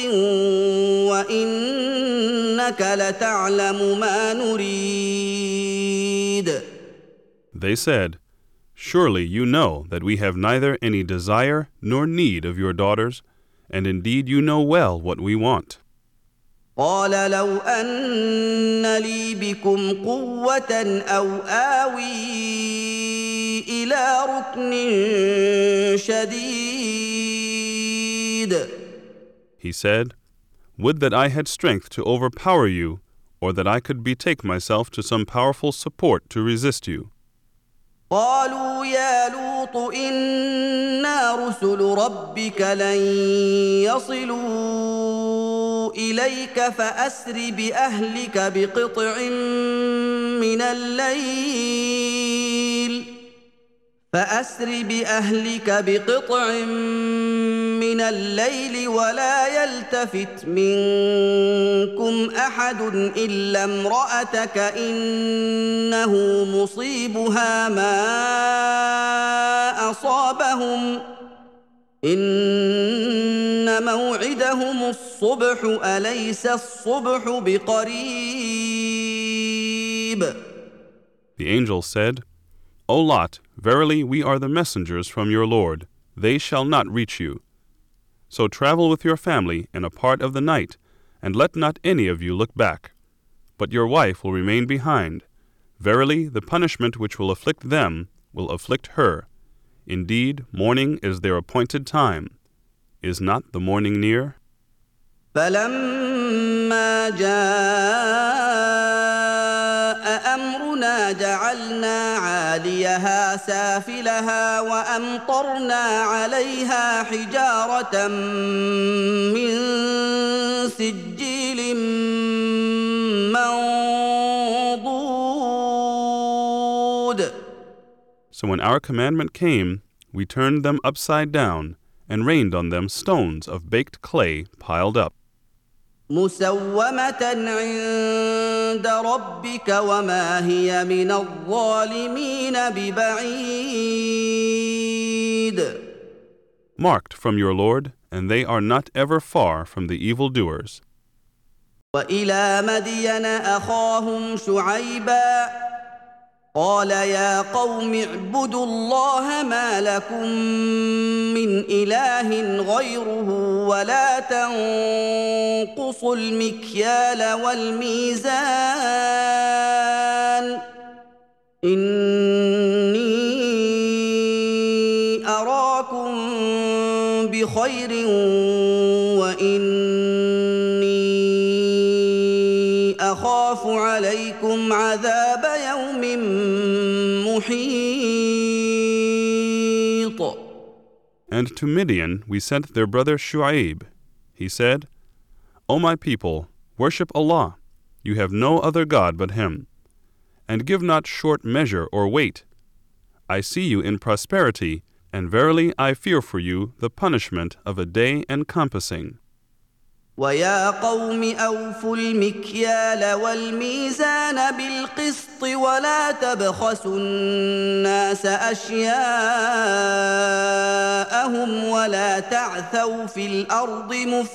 Speaker 1: وإنك لتعلم ما نريد.
Speaker 2: They said, "Surely you know that we have neither any desire nor need of your daughters, and indeed you know well what we want."
Speaker 1: قال لو أن لي بكم قوة أو آوي إلى ركن شديد.
Speaker 2: He said, "Would that I had strength to overpower you, or that I could betake myself to some powerful support to resist you."
Speaker 1: قالوا يا لوط إنا رسل ربك لن يصلوا إليك فأسر بأهلك بقطع من الليل ولا يلتفت منكم أحد إلا امرأتك إنه مصيبها ما أصابهم إن موعدهم الصبح أليس الصبح بقريب.
Speaker 2: The angel said, "O Lot, verily we are the messengers from your Lord. They shall not reach you. So travel with your family in a part of the night, and let not any of you look back. But your wife will remain behind. Verily, the punishment which will afflict them will afflict her. Indeed, morning is their appointed time. Is not the morning near?"
Speaker 1: فلما جاء أمرنا إنا جعلنا عاليها سافلها وأمطرنا عليها حجارة من سجيل منضود.
Speaker 2: So when our commandment came, we turned them upside down and rained on them stones of baked clay piled up.
Speaker 1: مسومة عند ربك وما هي من الظالمين ببعيد.
Speaker 2: Marked from your Lord, and they are not ever far from the evildoers.
Speaker 1: وإلى مدين أخاهم شعيبا قال يا قوم اعبدوا الله ما لكم من إله غيره ولا تنقصوا المكيال والميزان إني أراكم بخير وإني أخاف عليكم عذاب يوم محيط.
Speaker 2: And to Midian we sent their brother Shu'aib. He said, O my people, worship Allah. You have no other God but Him. And give not short measure or weight. I see you in prosperity, and verily I fear for you the punishment of a day encompassing.
Speaker 1: ويا قوم أوفوا المكيال والميزان بالقسط ولا تبخسوا الناس أشياءهم ولا تعثوا في الأرض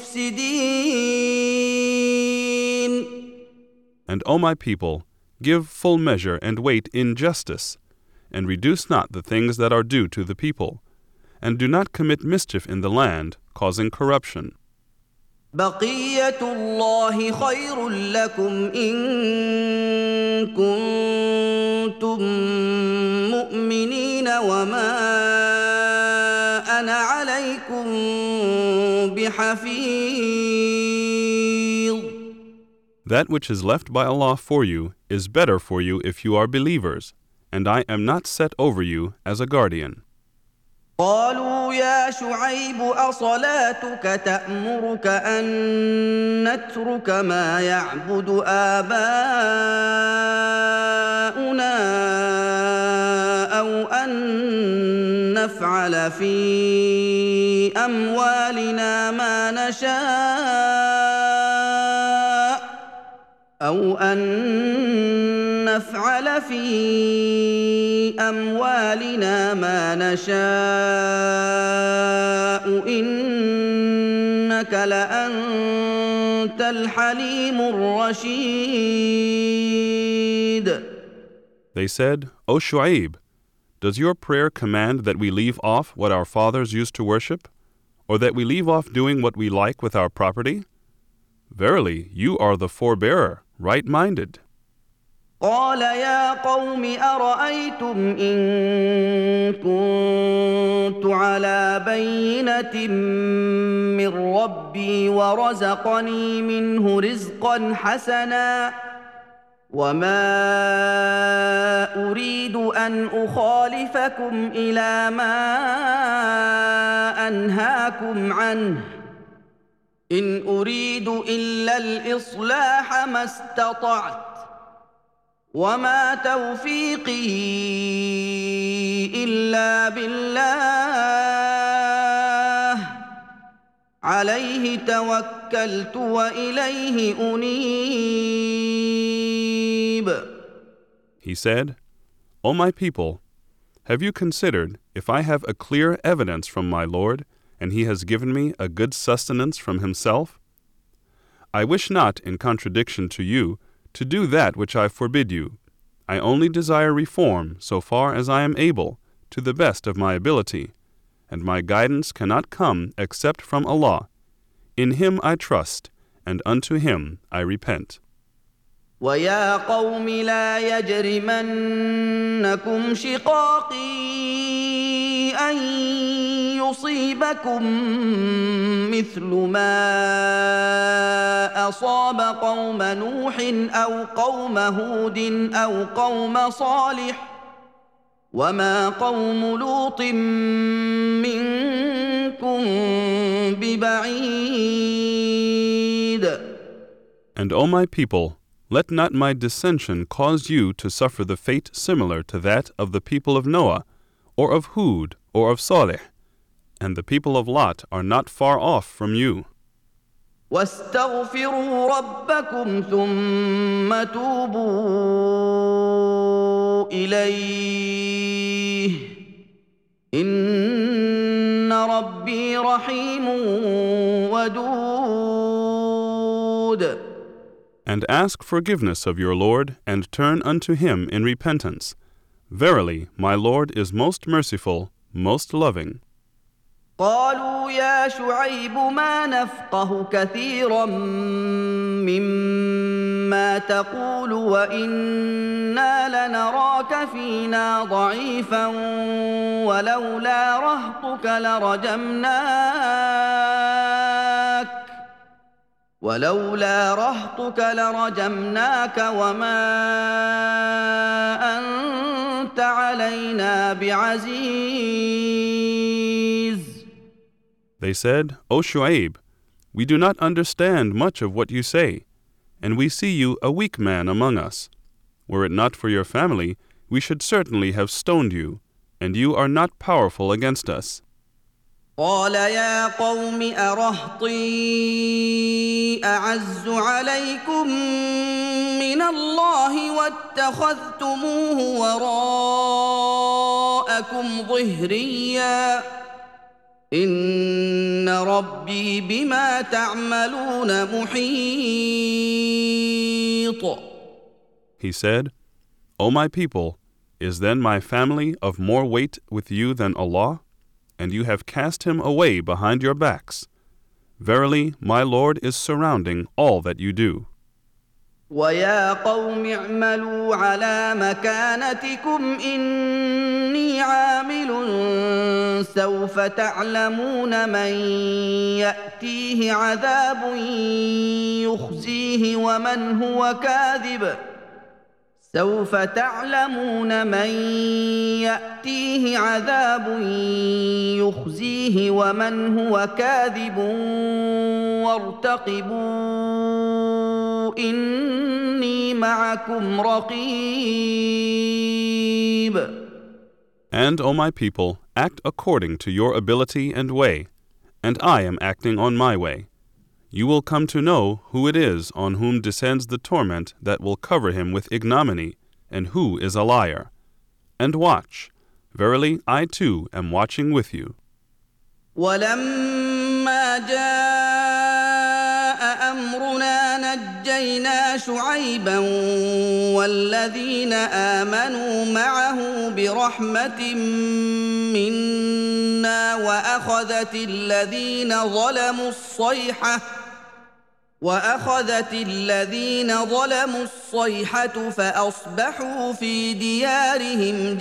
Speaker 1: مفسدين.
Speaker 2: And O my people, give full measure and weight in justice, and reduce not the things that are due to the people, and do not commit mischief in the land, causing corruption.
Speaker 1: بقية الله خير لكم إن كنتم مؤمنين وما أنا عليكم بحفيظ.
Speaker 2: That which is left by Allah for you is better for you if you are believers, and I am not set over you as a guardian.
Speaker 1: قالوا يا شعيب أصلاتك تأمرك أن نترك ما يعبد آباؤنا أو أن نفعل في أموالنا ما نشاء أو أن نفعل في أموالنا ما نشاء إنك لأنت الحليم الرشيد.
Speaker 2: They said, O Shu'aib, does your prayer command that we leave off what our fathers used to worship, or that we leave off doing what we like with our property? Verily, you are the forbearer, right-minded.
Speaker 1: قال يا قوم أرأيتم إن كنت على بينة من ربي ورزقني منه رزقا حسنا وما أريد أن أخالفكم إلى ما أنهاكم عنه إن أريد إلا الإصلاح ما استطعت وما توفيقي إلا بالله عليه توكلت وإليه أنيب.
Speaker 2: He said, O my people, have you considered if I have a clear evidence from my Lord, and He has given me a good sustenance from Himself? I wish not, in contradiction to you, to do that which I forbid you. I only desire reform so far as I am able, to the best of my ability, and my guidance cannot come except from Allah. In Him I trust, and unto Him I repent.
Speaker 1: ويا قوم لا يجرمنكم شقاقي أن يصيبكم مثل ما أصاب قوم نوح أو قوم هود أو قوم صالح وما قوم لوط منكم ببعيد.
Speaker 2: And O my people, let not my dissension cause you to suffer the fate similar to that of the people of Noah, or of Hud, or of Saleh, and the people of Lot are not far off from you.
Speaker 1: واستغفروا ربكم ثم توبوا إليه إن ربي رحيم ودود.
Speaker 2: And ask forgiveness of your Lord, and turn unto him in repentance. Verily, my Lord is most merciful, most loving.
Speaker 1: قالوا يا شعيب ما نفقه كثيرا مما تقول وإنا لنراك فينا ضعيفا ولولا رهطك لرجمناك وما أنت علينا بعزيز.
Speaker 2: They said, O Shu'aib, we do not understand much of what you say, and we see you a weak man among us. Were it not for your family, we should certainly have stoned you, and you are not powerful against us.
Speaker 1: قال يا قوم أرهطي أعز عليكم من الله واتخذتموه وراءكم ظهريا إن ربي بما تعملون محيط.
Speaker 2: He said, O my people, is then my family of more weight with you than Allah? And you have cast him away behind your backs. Verily, my Lord is surrounding all that you do.
Speaker 1: وَيَا قَوْمِ اعْمَلُوا عَلَى مَكَانَتِكُمْ إِنِّي عَامِلٌ سَوْفَ تعلمون من يأتيه عذاب يخزيه ومن هو كاذب وارتقبوا إني معكم رقيب.
Speaker 2: And, O my people, act according to your ability and way, and I am acting on my way. You will come to know who it is on whom descends the torment that will cover him with ignominy, and who is a liar. And watch. Verily, I too am watching with you.
Speaker 1: ولما جاء أمرنا نجينا شعيبا والذين آمنوا معه برحمة منا وأخذت الذين ظلموا الصيحة فأصبحوا في ديارهم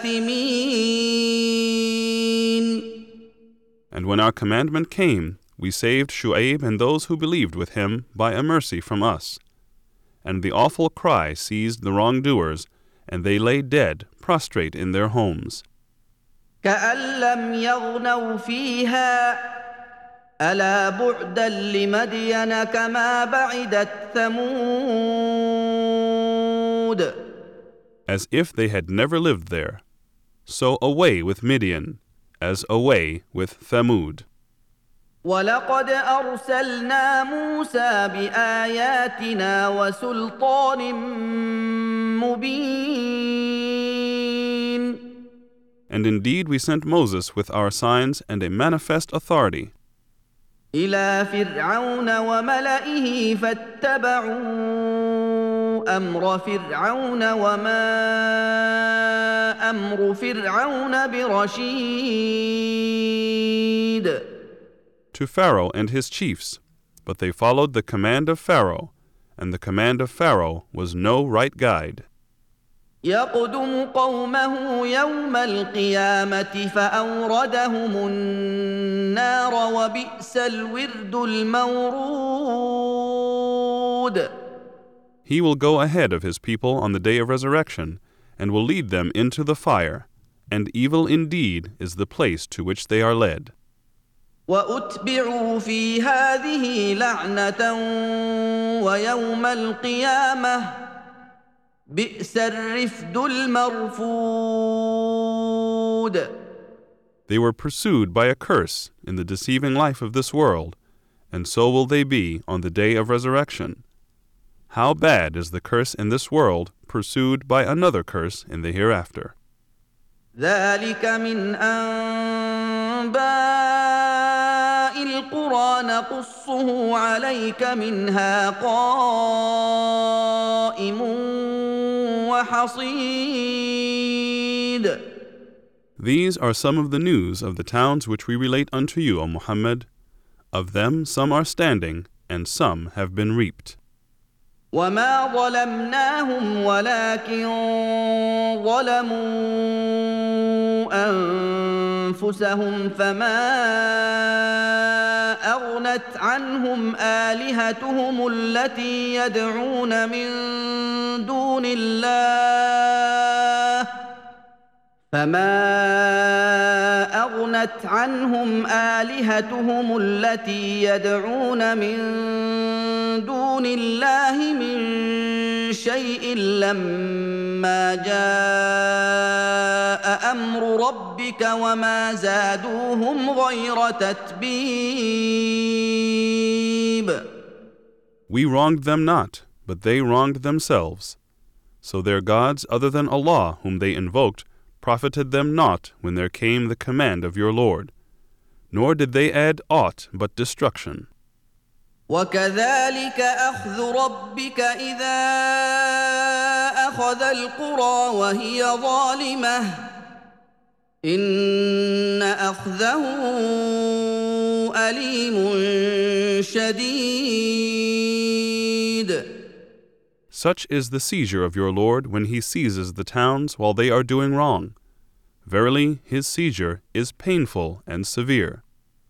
Speaker 1: جاثمين.
Speaker 2: And when our commandment came, we saved Shu'aib and those who believed with him by a mercy from us. And the awful cry seized the wrongdoers, and they lay dead, prostrate in their homes.
Speaker 1: كأن لم يغنوا فيها ألا بعدا لمدين كما بعدت ثمود.
Speaker 2: As if they had never lived there. So away with Midian, as away with Thamud.
Speaker 1: ولقد أرسلنا موسى بآياتنا وسلطان مبين.
Speaker 2: And indeed we sent Moses with our signs and a manifest authority.
Speaker 1: إلى فرعون وملئه فاتبعوا أمر فرعون وما أمر فرعون برشيد.
Speaker 2: To Pharaoh and his chiefs, but they followed the command of Pharaoh, and the command of Pharaoh was no right guide.
Speaker 1: يقدم قومه يوم القيامة فأوردهم النار وبئس الورد المورود.
Speaker 2: He will go ahead of his people on the day of resurrection, and will lead them into the fire, and evil indeed is the place to which they are led.
Speaker 1: وأتبعوا في هذه لعنة ويوم القيامة بئس الرفد المرفود.
Speaker 2: They were pursued by a curse in the deceiving life of this world, and so will they be on the day of resurrection. How bad is the curse in this world pursued by another curse in the hereafter.
Speaker 1: ذلك من أنباء القرى نقصه عليك منها قائم وحصيد.
Speaker 2: These are some of the news of the towns which we relate unto you, O Muhammad. Of them some are standing, and some have been reaped.
Speaker 1: وما ظلمناهم ولكن ظلموا أنفسهم فما أغنت عنهم آلهتهم التي يدعون من دون الله من شيء لما جاء أمر ربك وما زادوهم غير تتبيب.
Speaker 2: We wronged them not, but they wronged themselves. So their gods other than Allah whom they invoked profited them not when there came the command of your Lord, nor did they add aught but destruction.
Speaker 1: وكذلك أخذ ربك إذا أخذ القرى وهي ظالمة إن أخذه أليم شديد.
Speaker 2: Such is the seizure of your Lord when he seizes the towns while they are doing wrong. Verily, his seizure is painful and severe.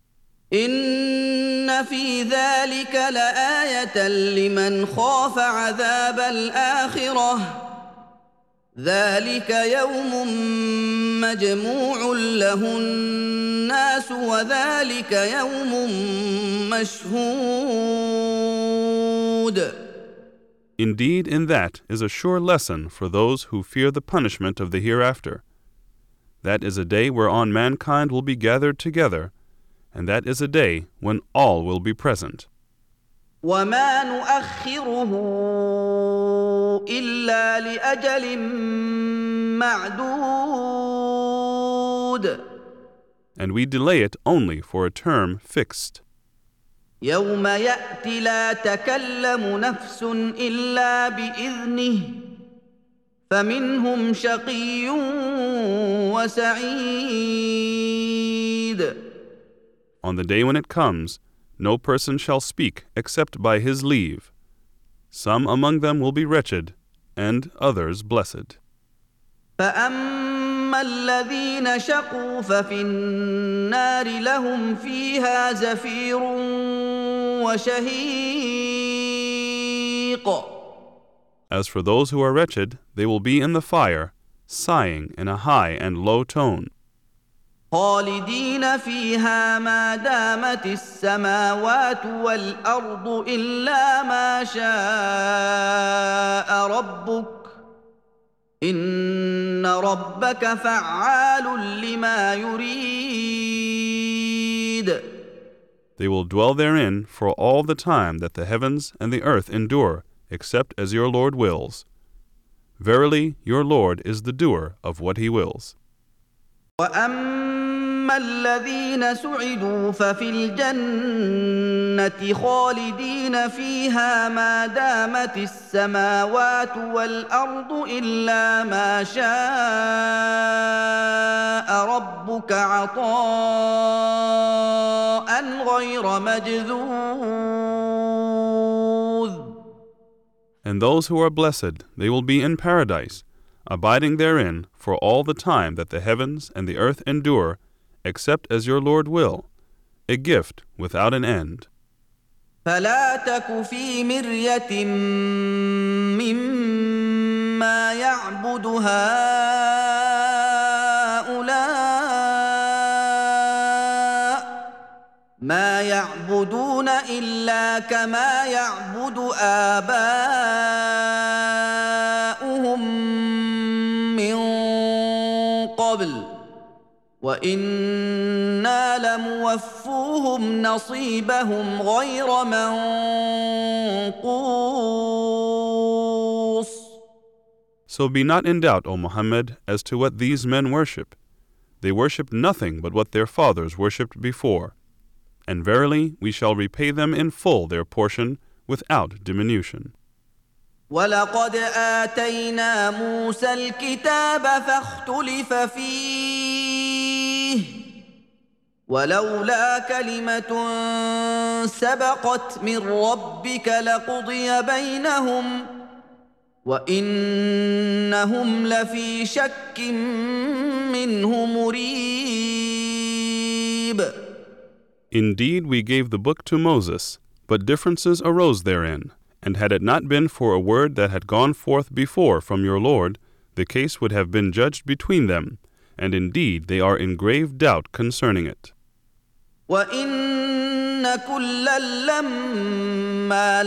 Speaker 1: إن في ذلك لآية لمن خاف عذاب الآخرة ذلك يوم مجموع له الناس وذلك يوم مشهود.
Speaker 2: Indeed, in that is a sure lesson for those who fear the punishment of the hereafter. That is a day whereon mankind will be gathered together, and that is a day when all will be present.
Speaker 1: وما نؤخره إلا لأجل معدود.
Speaker 2: And we delay it only for a term fixed.
Speaker 1: يوم يأتي لا تكلم نفس إلا بإذنه فمنهم شقي وسعيد.
Speaker 2: On the day when it comes, no person shall speak except by his leave. Some among them will be wretched, and others blessed.
Speaker 1: فأما الذين شقوا ففي النار لهم فيها زفير وشهيق.
Speaker 2: As for those who are wretched, they will be in the fire, sighing in a high and low tone.
Speaker 1: خالدين فيها ما دامت السماوات والأرض إلا ما شاء ربك إن ربك فعال لما يريد.
Speaker 2: They will dwell therein for all the time that the heavens and the earth endure, except as your Lord wills. Verily, your Lord is the doer of what he wills.
Speaker 1: وأما الذين سعدوا ففي الجنة خالدين فيها ما دامت السماوات والأرض إلا ما شاء ربك عطاء غير مجذوذ.
Speaker 2: And those who are blessed, they will be in paradise, abiding therein for all the time that the heavens and the earth endure, except as your Lord will, a gift without an end.
Speaker 1: فلا تك في مرية مما يعبد هؤلاء ما يعبدون إلا كما يعبد آباؤهم من قبل وإنا لموفوهم نصيبهم غير منقوص.
Speaker 2: So be not in doubt, O Muhammad, as to what these men worship. They worship nothing but what their fathers worshipped before. And verily, we shall repay them in full their portion without diminution.
Speaker 1: وَلَقَدْ آتَيْنَا مُوسَى الْكِتَابَ فَاخْتُلِفَ فِيهِ وَلَوْلَا كَلِمَةٌ سَبَقَتْ مِنْ رَبِّكَ لَقُضِيَ بَيْنَهُمْ وَإِنَّهُمْ لَفِي شَكٍّ مِّنْهُ مُرِيبٍ.
Speaker 2: Indeed, we gave the book to Moses, but differences arose therein. And had it not been for a word that had gone forth before from your Lord, the case would have been judged between them, and indeed they are in grave doubt concerning it.
Speaker 1: وَإِنَّ كُلًّا لَّمَّا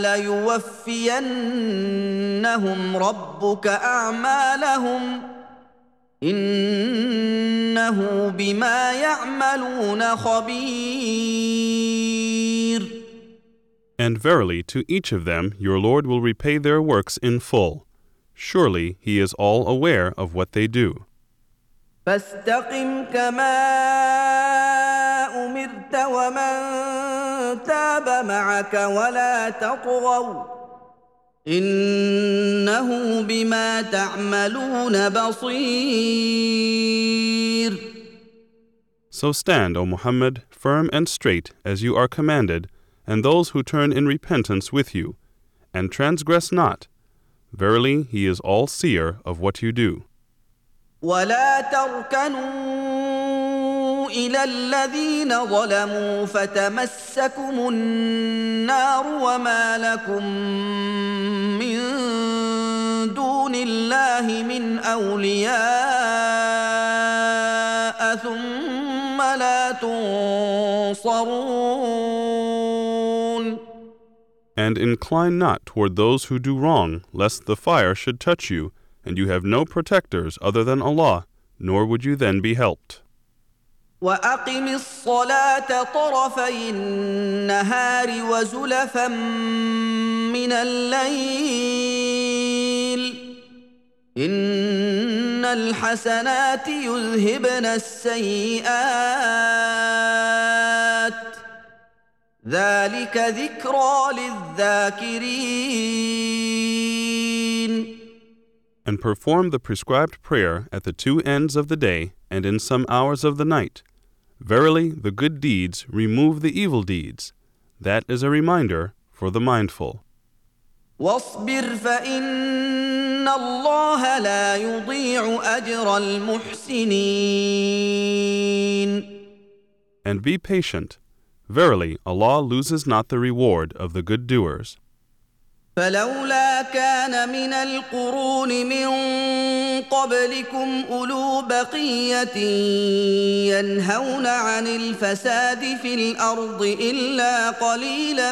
Speaker 1: لَيُوَفِّيَنَّهُمْ رَبُّكَ أَعْمَالَهُمْ إِنَّهُ بِمَا يَعْمَلُونَ خَبِيرٌ.
Speaker 2: And verily, to each of them your Lord will repay their works in full. Surely he is all aware of what they do.
Speaker 1: فاستقم كما أمرت ومن تاب معك ولا تطغوا إنه بما تعملون بصير.
Speaker 2: So stand, O Muhammad, firm and straight as you are commanded, and those who turn in repentance with you, and transgress not. Verily, he is all-seer of what you do.
Speaker 1: ولا تركنوا إلى الذين ظلموا فتمسكم النار وما لكم من دون الله من أولياء ثم لا تنصرون.
Speaker 2: And incline not toward those who do wrong, lest the fire should touch you, and you have no protectors other than Allah, nor would you then be helped.
Speaker 1: وَأَقِمِ الصَّلَاةَ طَرَفَيِ النَّهَارِ وَزُلَفًا مِّنَ اللَّيْلِ إِنَّ الْحَسَنَاتِ يُذْهِبْنَ السَّيِّئَاتِ ذَلِكَ ذِكْرَى لِلذَّاكِرِينَ.
Speaker 2: And perform the prescribed prayer at the two ends of the day and in some hours of the night. Verily, the good deeds remove the evil deeds. That is a reminder for the mindful.
Speaker 1: وَاصْبِرْ فَإِنَّ اللَّهَ لَا يُضِيعُ أَجْرَ الْمُحْسِنِينَ.
Speaker 2: And be patient. Verily, Allah loses not the reward of the good doers.
Speaker 1: فلولا كان من القرون من قبلكم أولو بقية ينهون عن الفساد في الأرض إلا قليلا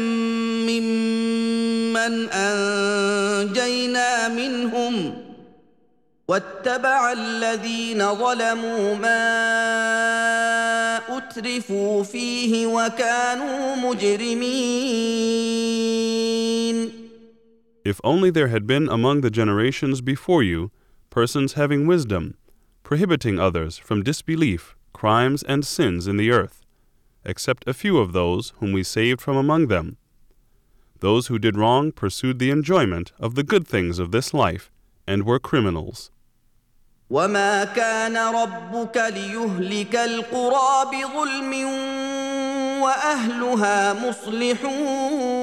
Speaker 1: ممن أنجينا منهم واتبع الذين ظلموا ما أترفوا فيه وكانوا مجرمين.
Speaker 2: If only there had been among the generations before you persons having wisdom, prohibiting others from disbelief, crimes, and sins in the earth, except a few of those whom we saved from among them. Those who did wrong pursued the enjoyment of the good things of this life and were criminals.
Speaker 1: وما كان ربك ليهلك القرى بظلم وأهلها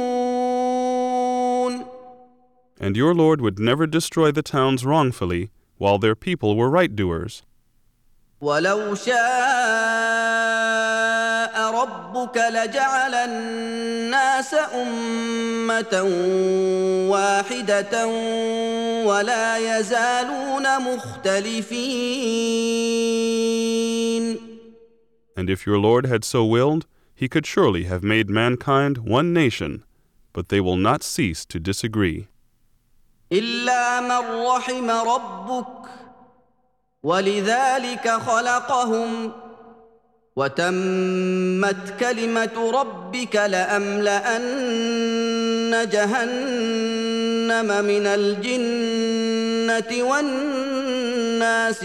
Speaker 1: مصلحون.
Speaker 2: And your Lord would never destroy the towns wrongfully, while their people were right-doers.
Speaker 1: ولو شاء ربك لجعل الناس أمة واحدة ولا يزالون مختلفين.
Speaker 2: And if your Lord had so willed, he could surely have made mankind one nation, but they will not cease to disagree.
Speaker 1: إلا من رحم ربك ولذلك خلقهم وتمت كلمة ربك لأملأن جهنم من الجنة والناس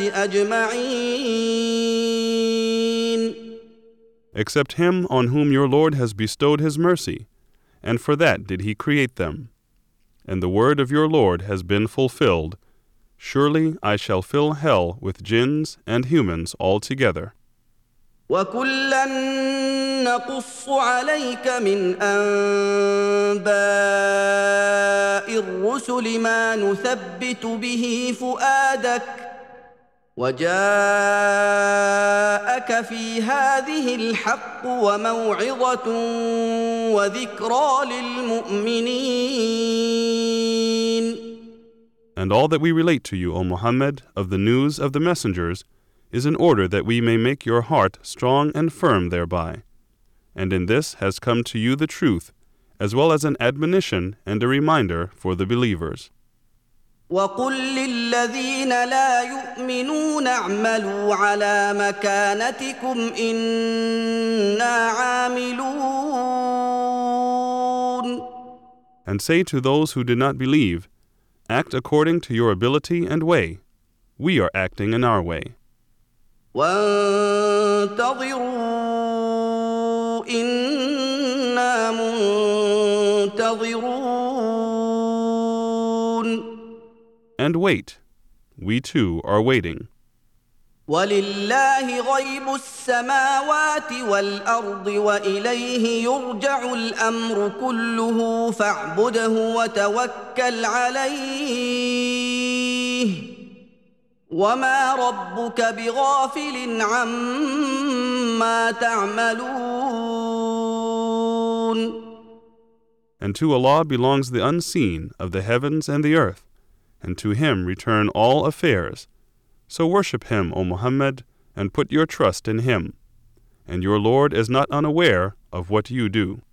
Speaker 1: أجمعين.
Speaker 2: Except him on whom your Lord has bestowed his mercy, and for that did he create them. And the word of your Lord has been fulfilled. Surely I shall fill hell with jinns and humans altogether.
Speaker 1: وَكُلًّا نَّقُصُّ عَلَيْكَ مِنْ أَنبَاءِ الرُّسُلِ مَا نُثَبِّتُ بِهِ فُؤَادَكَ وَجَاءَكَ فِي هَٰذِهِ الْحَقُّ وَمَوْعِظَةٌ وَذِكْرَىٰ لِلْمُؤْمِنِينَ.
Speaker 2: And all that we relate to you, O Muhammad, of the news of the messengers, is in order that we may make your heart strong and firm thereby. And in this has come to you the truth, as well as an admonition and a reminder for the believers.
Speaker 1: وَقُل لِّلَّذِينَ لَا يُؤْمِنُونَ اعْمَلُوا عَلَىٰ مَكَانَتِكُمْ إِنَّا عَامِلُونَ.
Speaker 2: And say to those who do not believe, act according to your ability and way. We are acting in our way.
Speaker 1: وَانتَظِرُوا إِنَّا مُنتَظِرُونَ.
Speaker 2: And wait. We too are waiting.
Speaker 1: وَلِلَّهِ غَيْبُ السَّمَاوَاتِ وَالْأَرْضِ وَإِلَيْهِ يُرْجَعُ الْأَمْرُ كُلُّهُ فَاعْبُدْهُ وَتَوَكَّلْ عَلَيْهِ وَمَا رَبُّكَ بِغَافِلٍ عَمَّا تَعْمَلُونَ.
Speaker 2: And to Allah belongs the unseen of the heavens and the earth, and to him return all affairs. So worship him, O Muhammad, and put your trust in him. And your Lord is not unaware of what you do.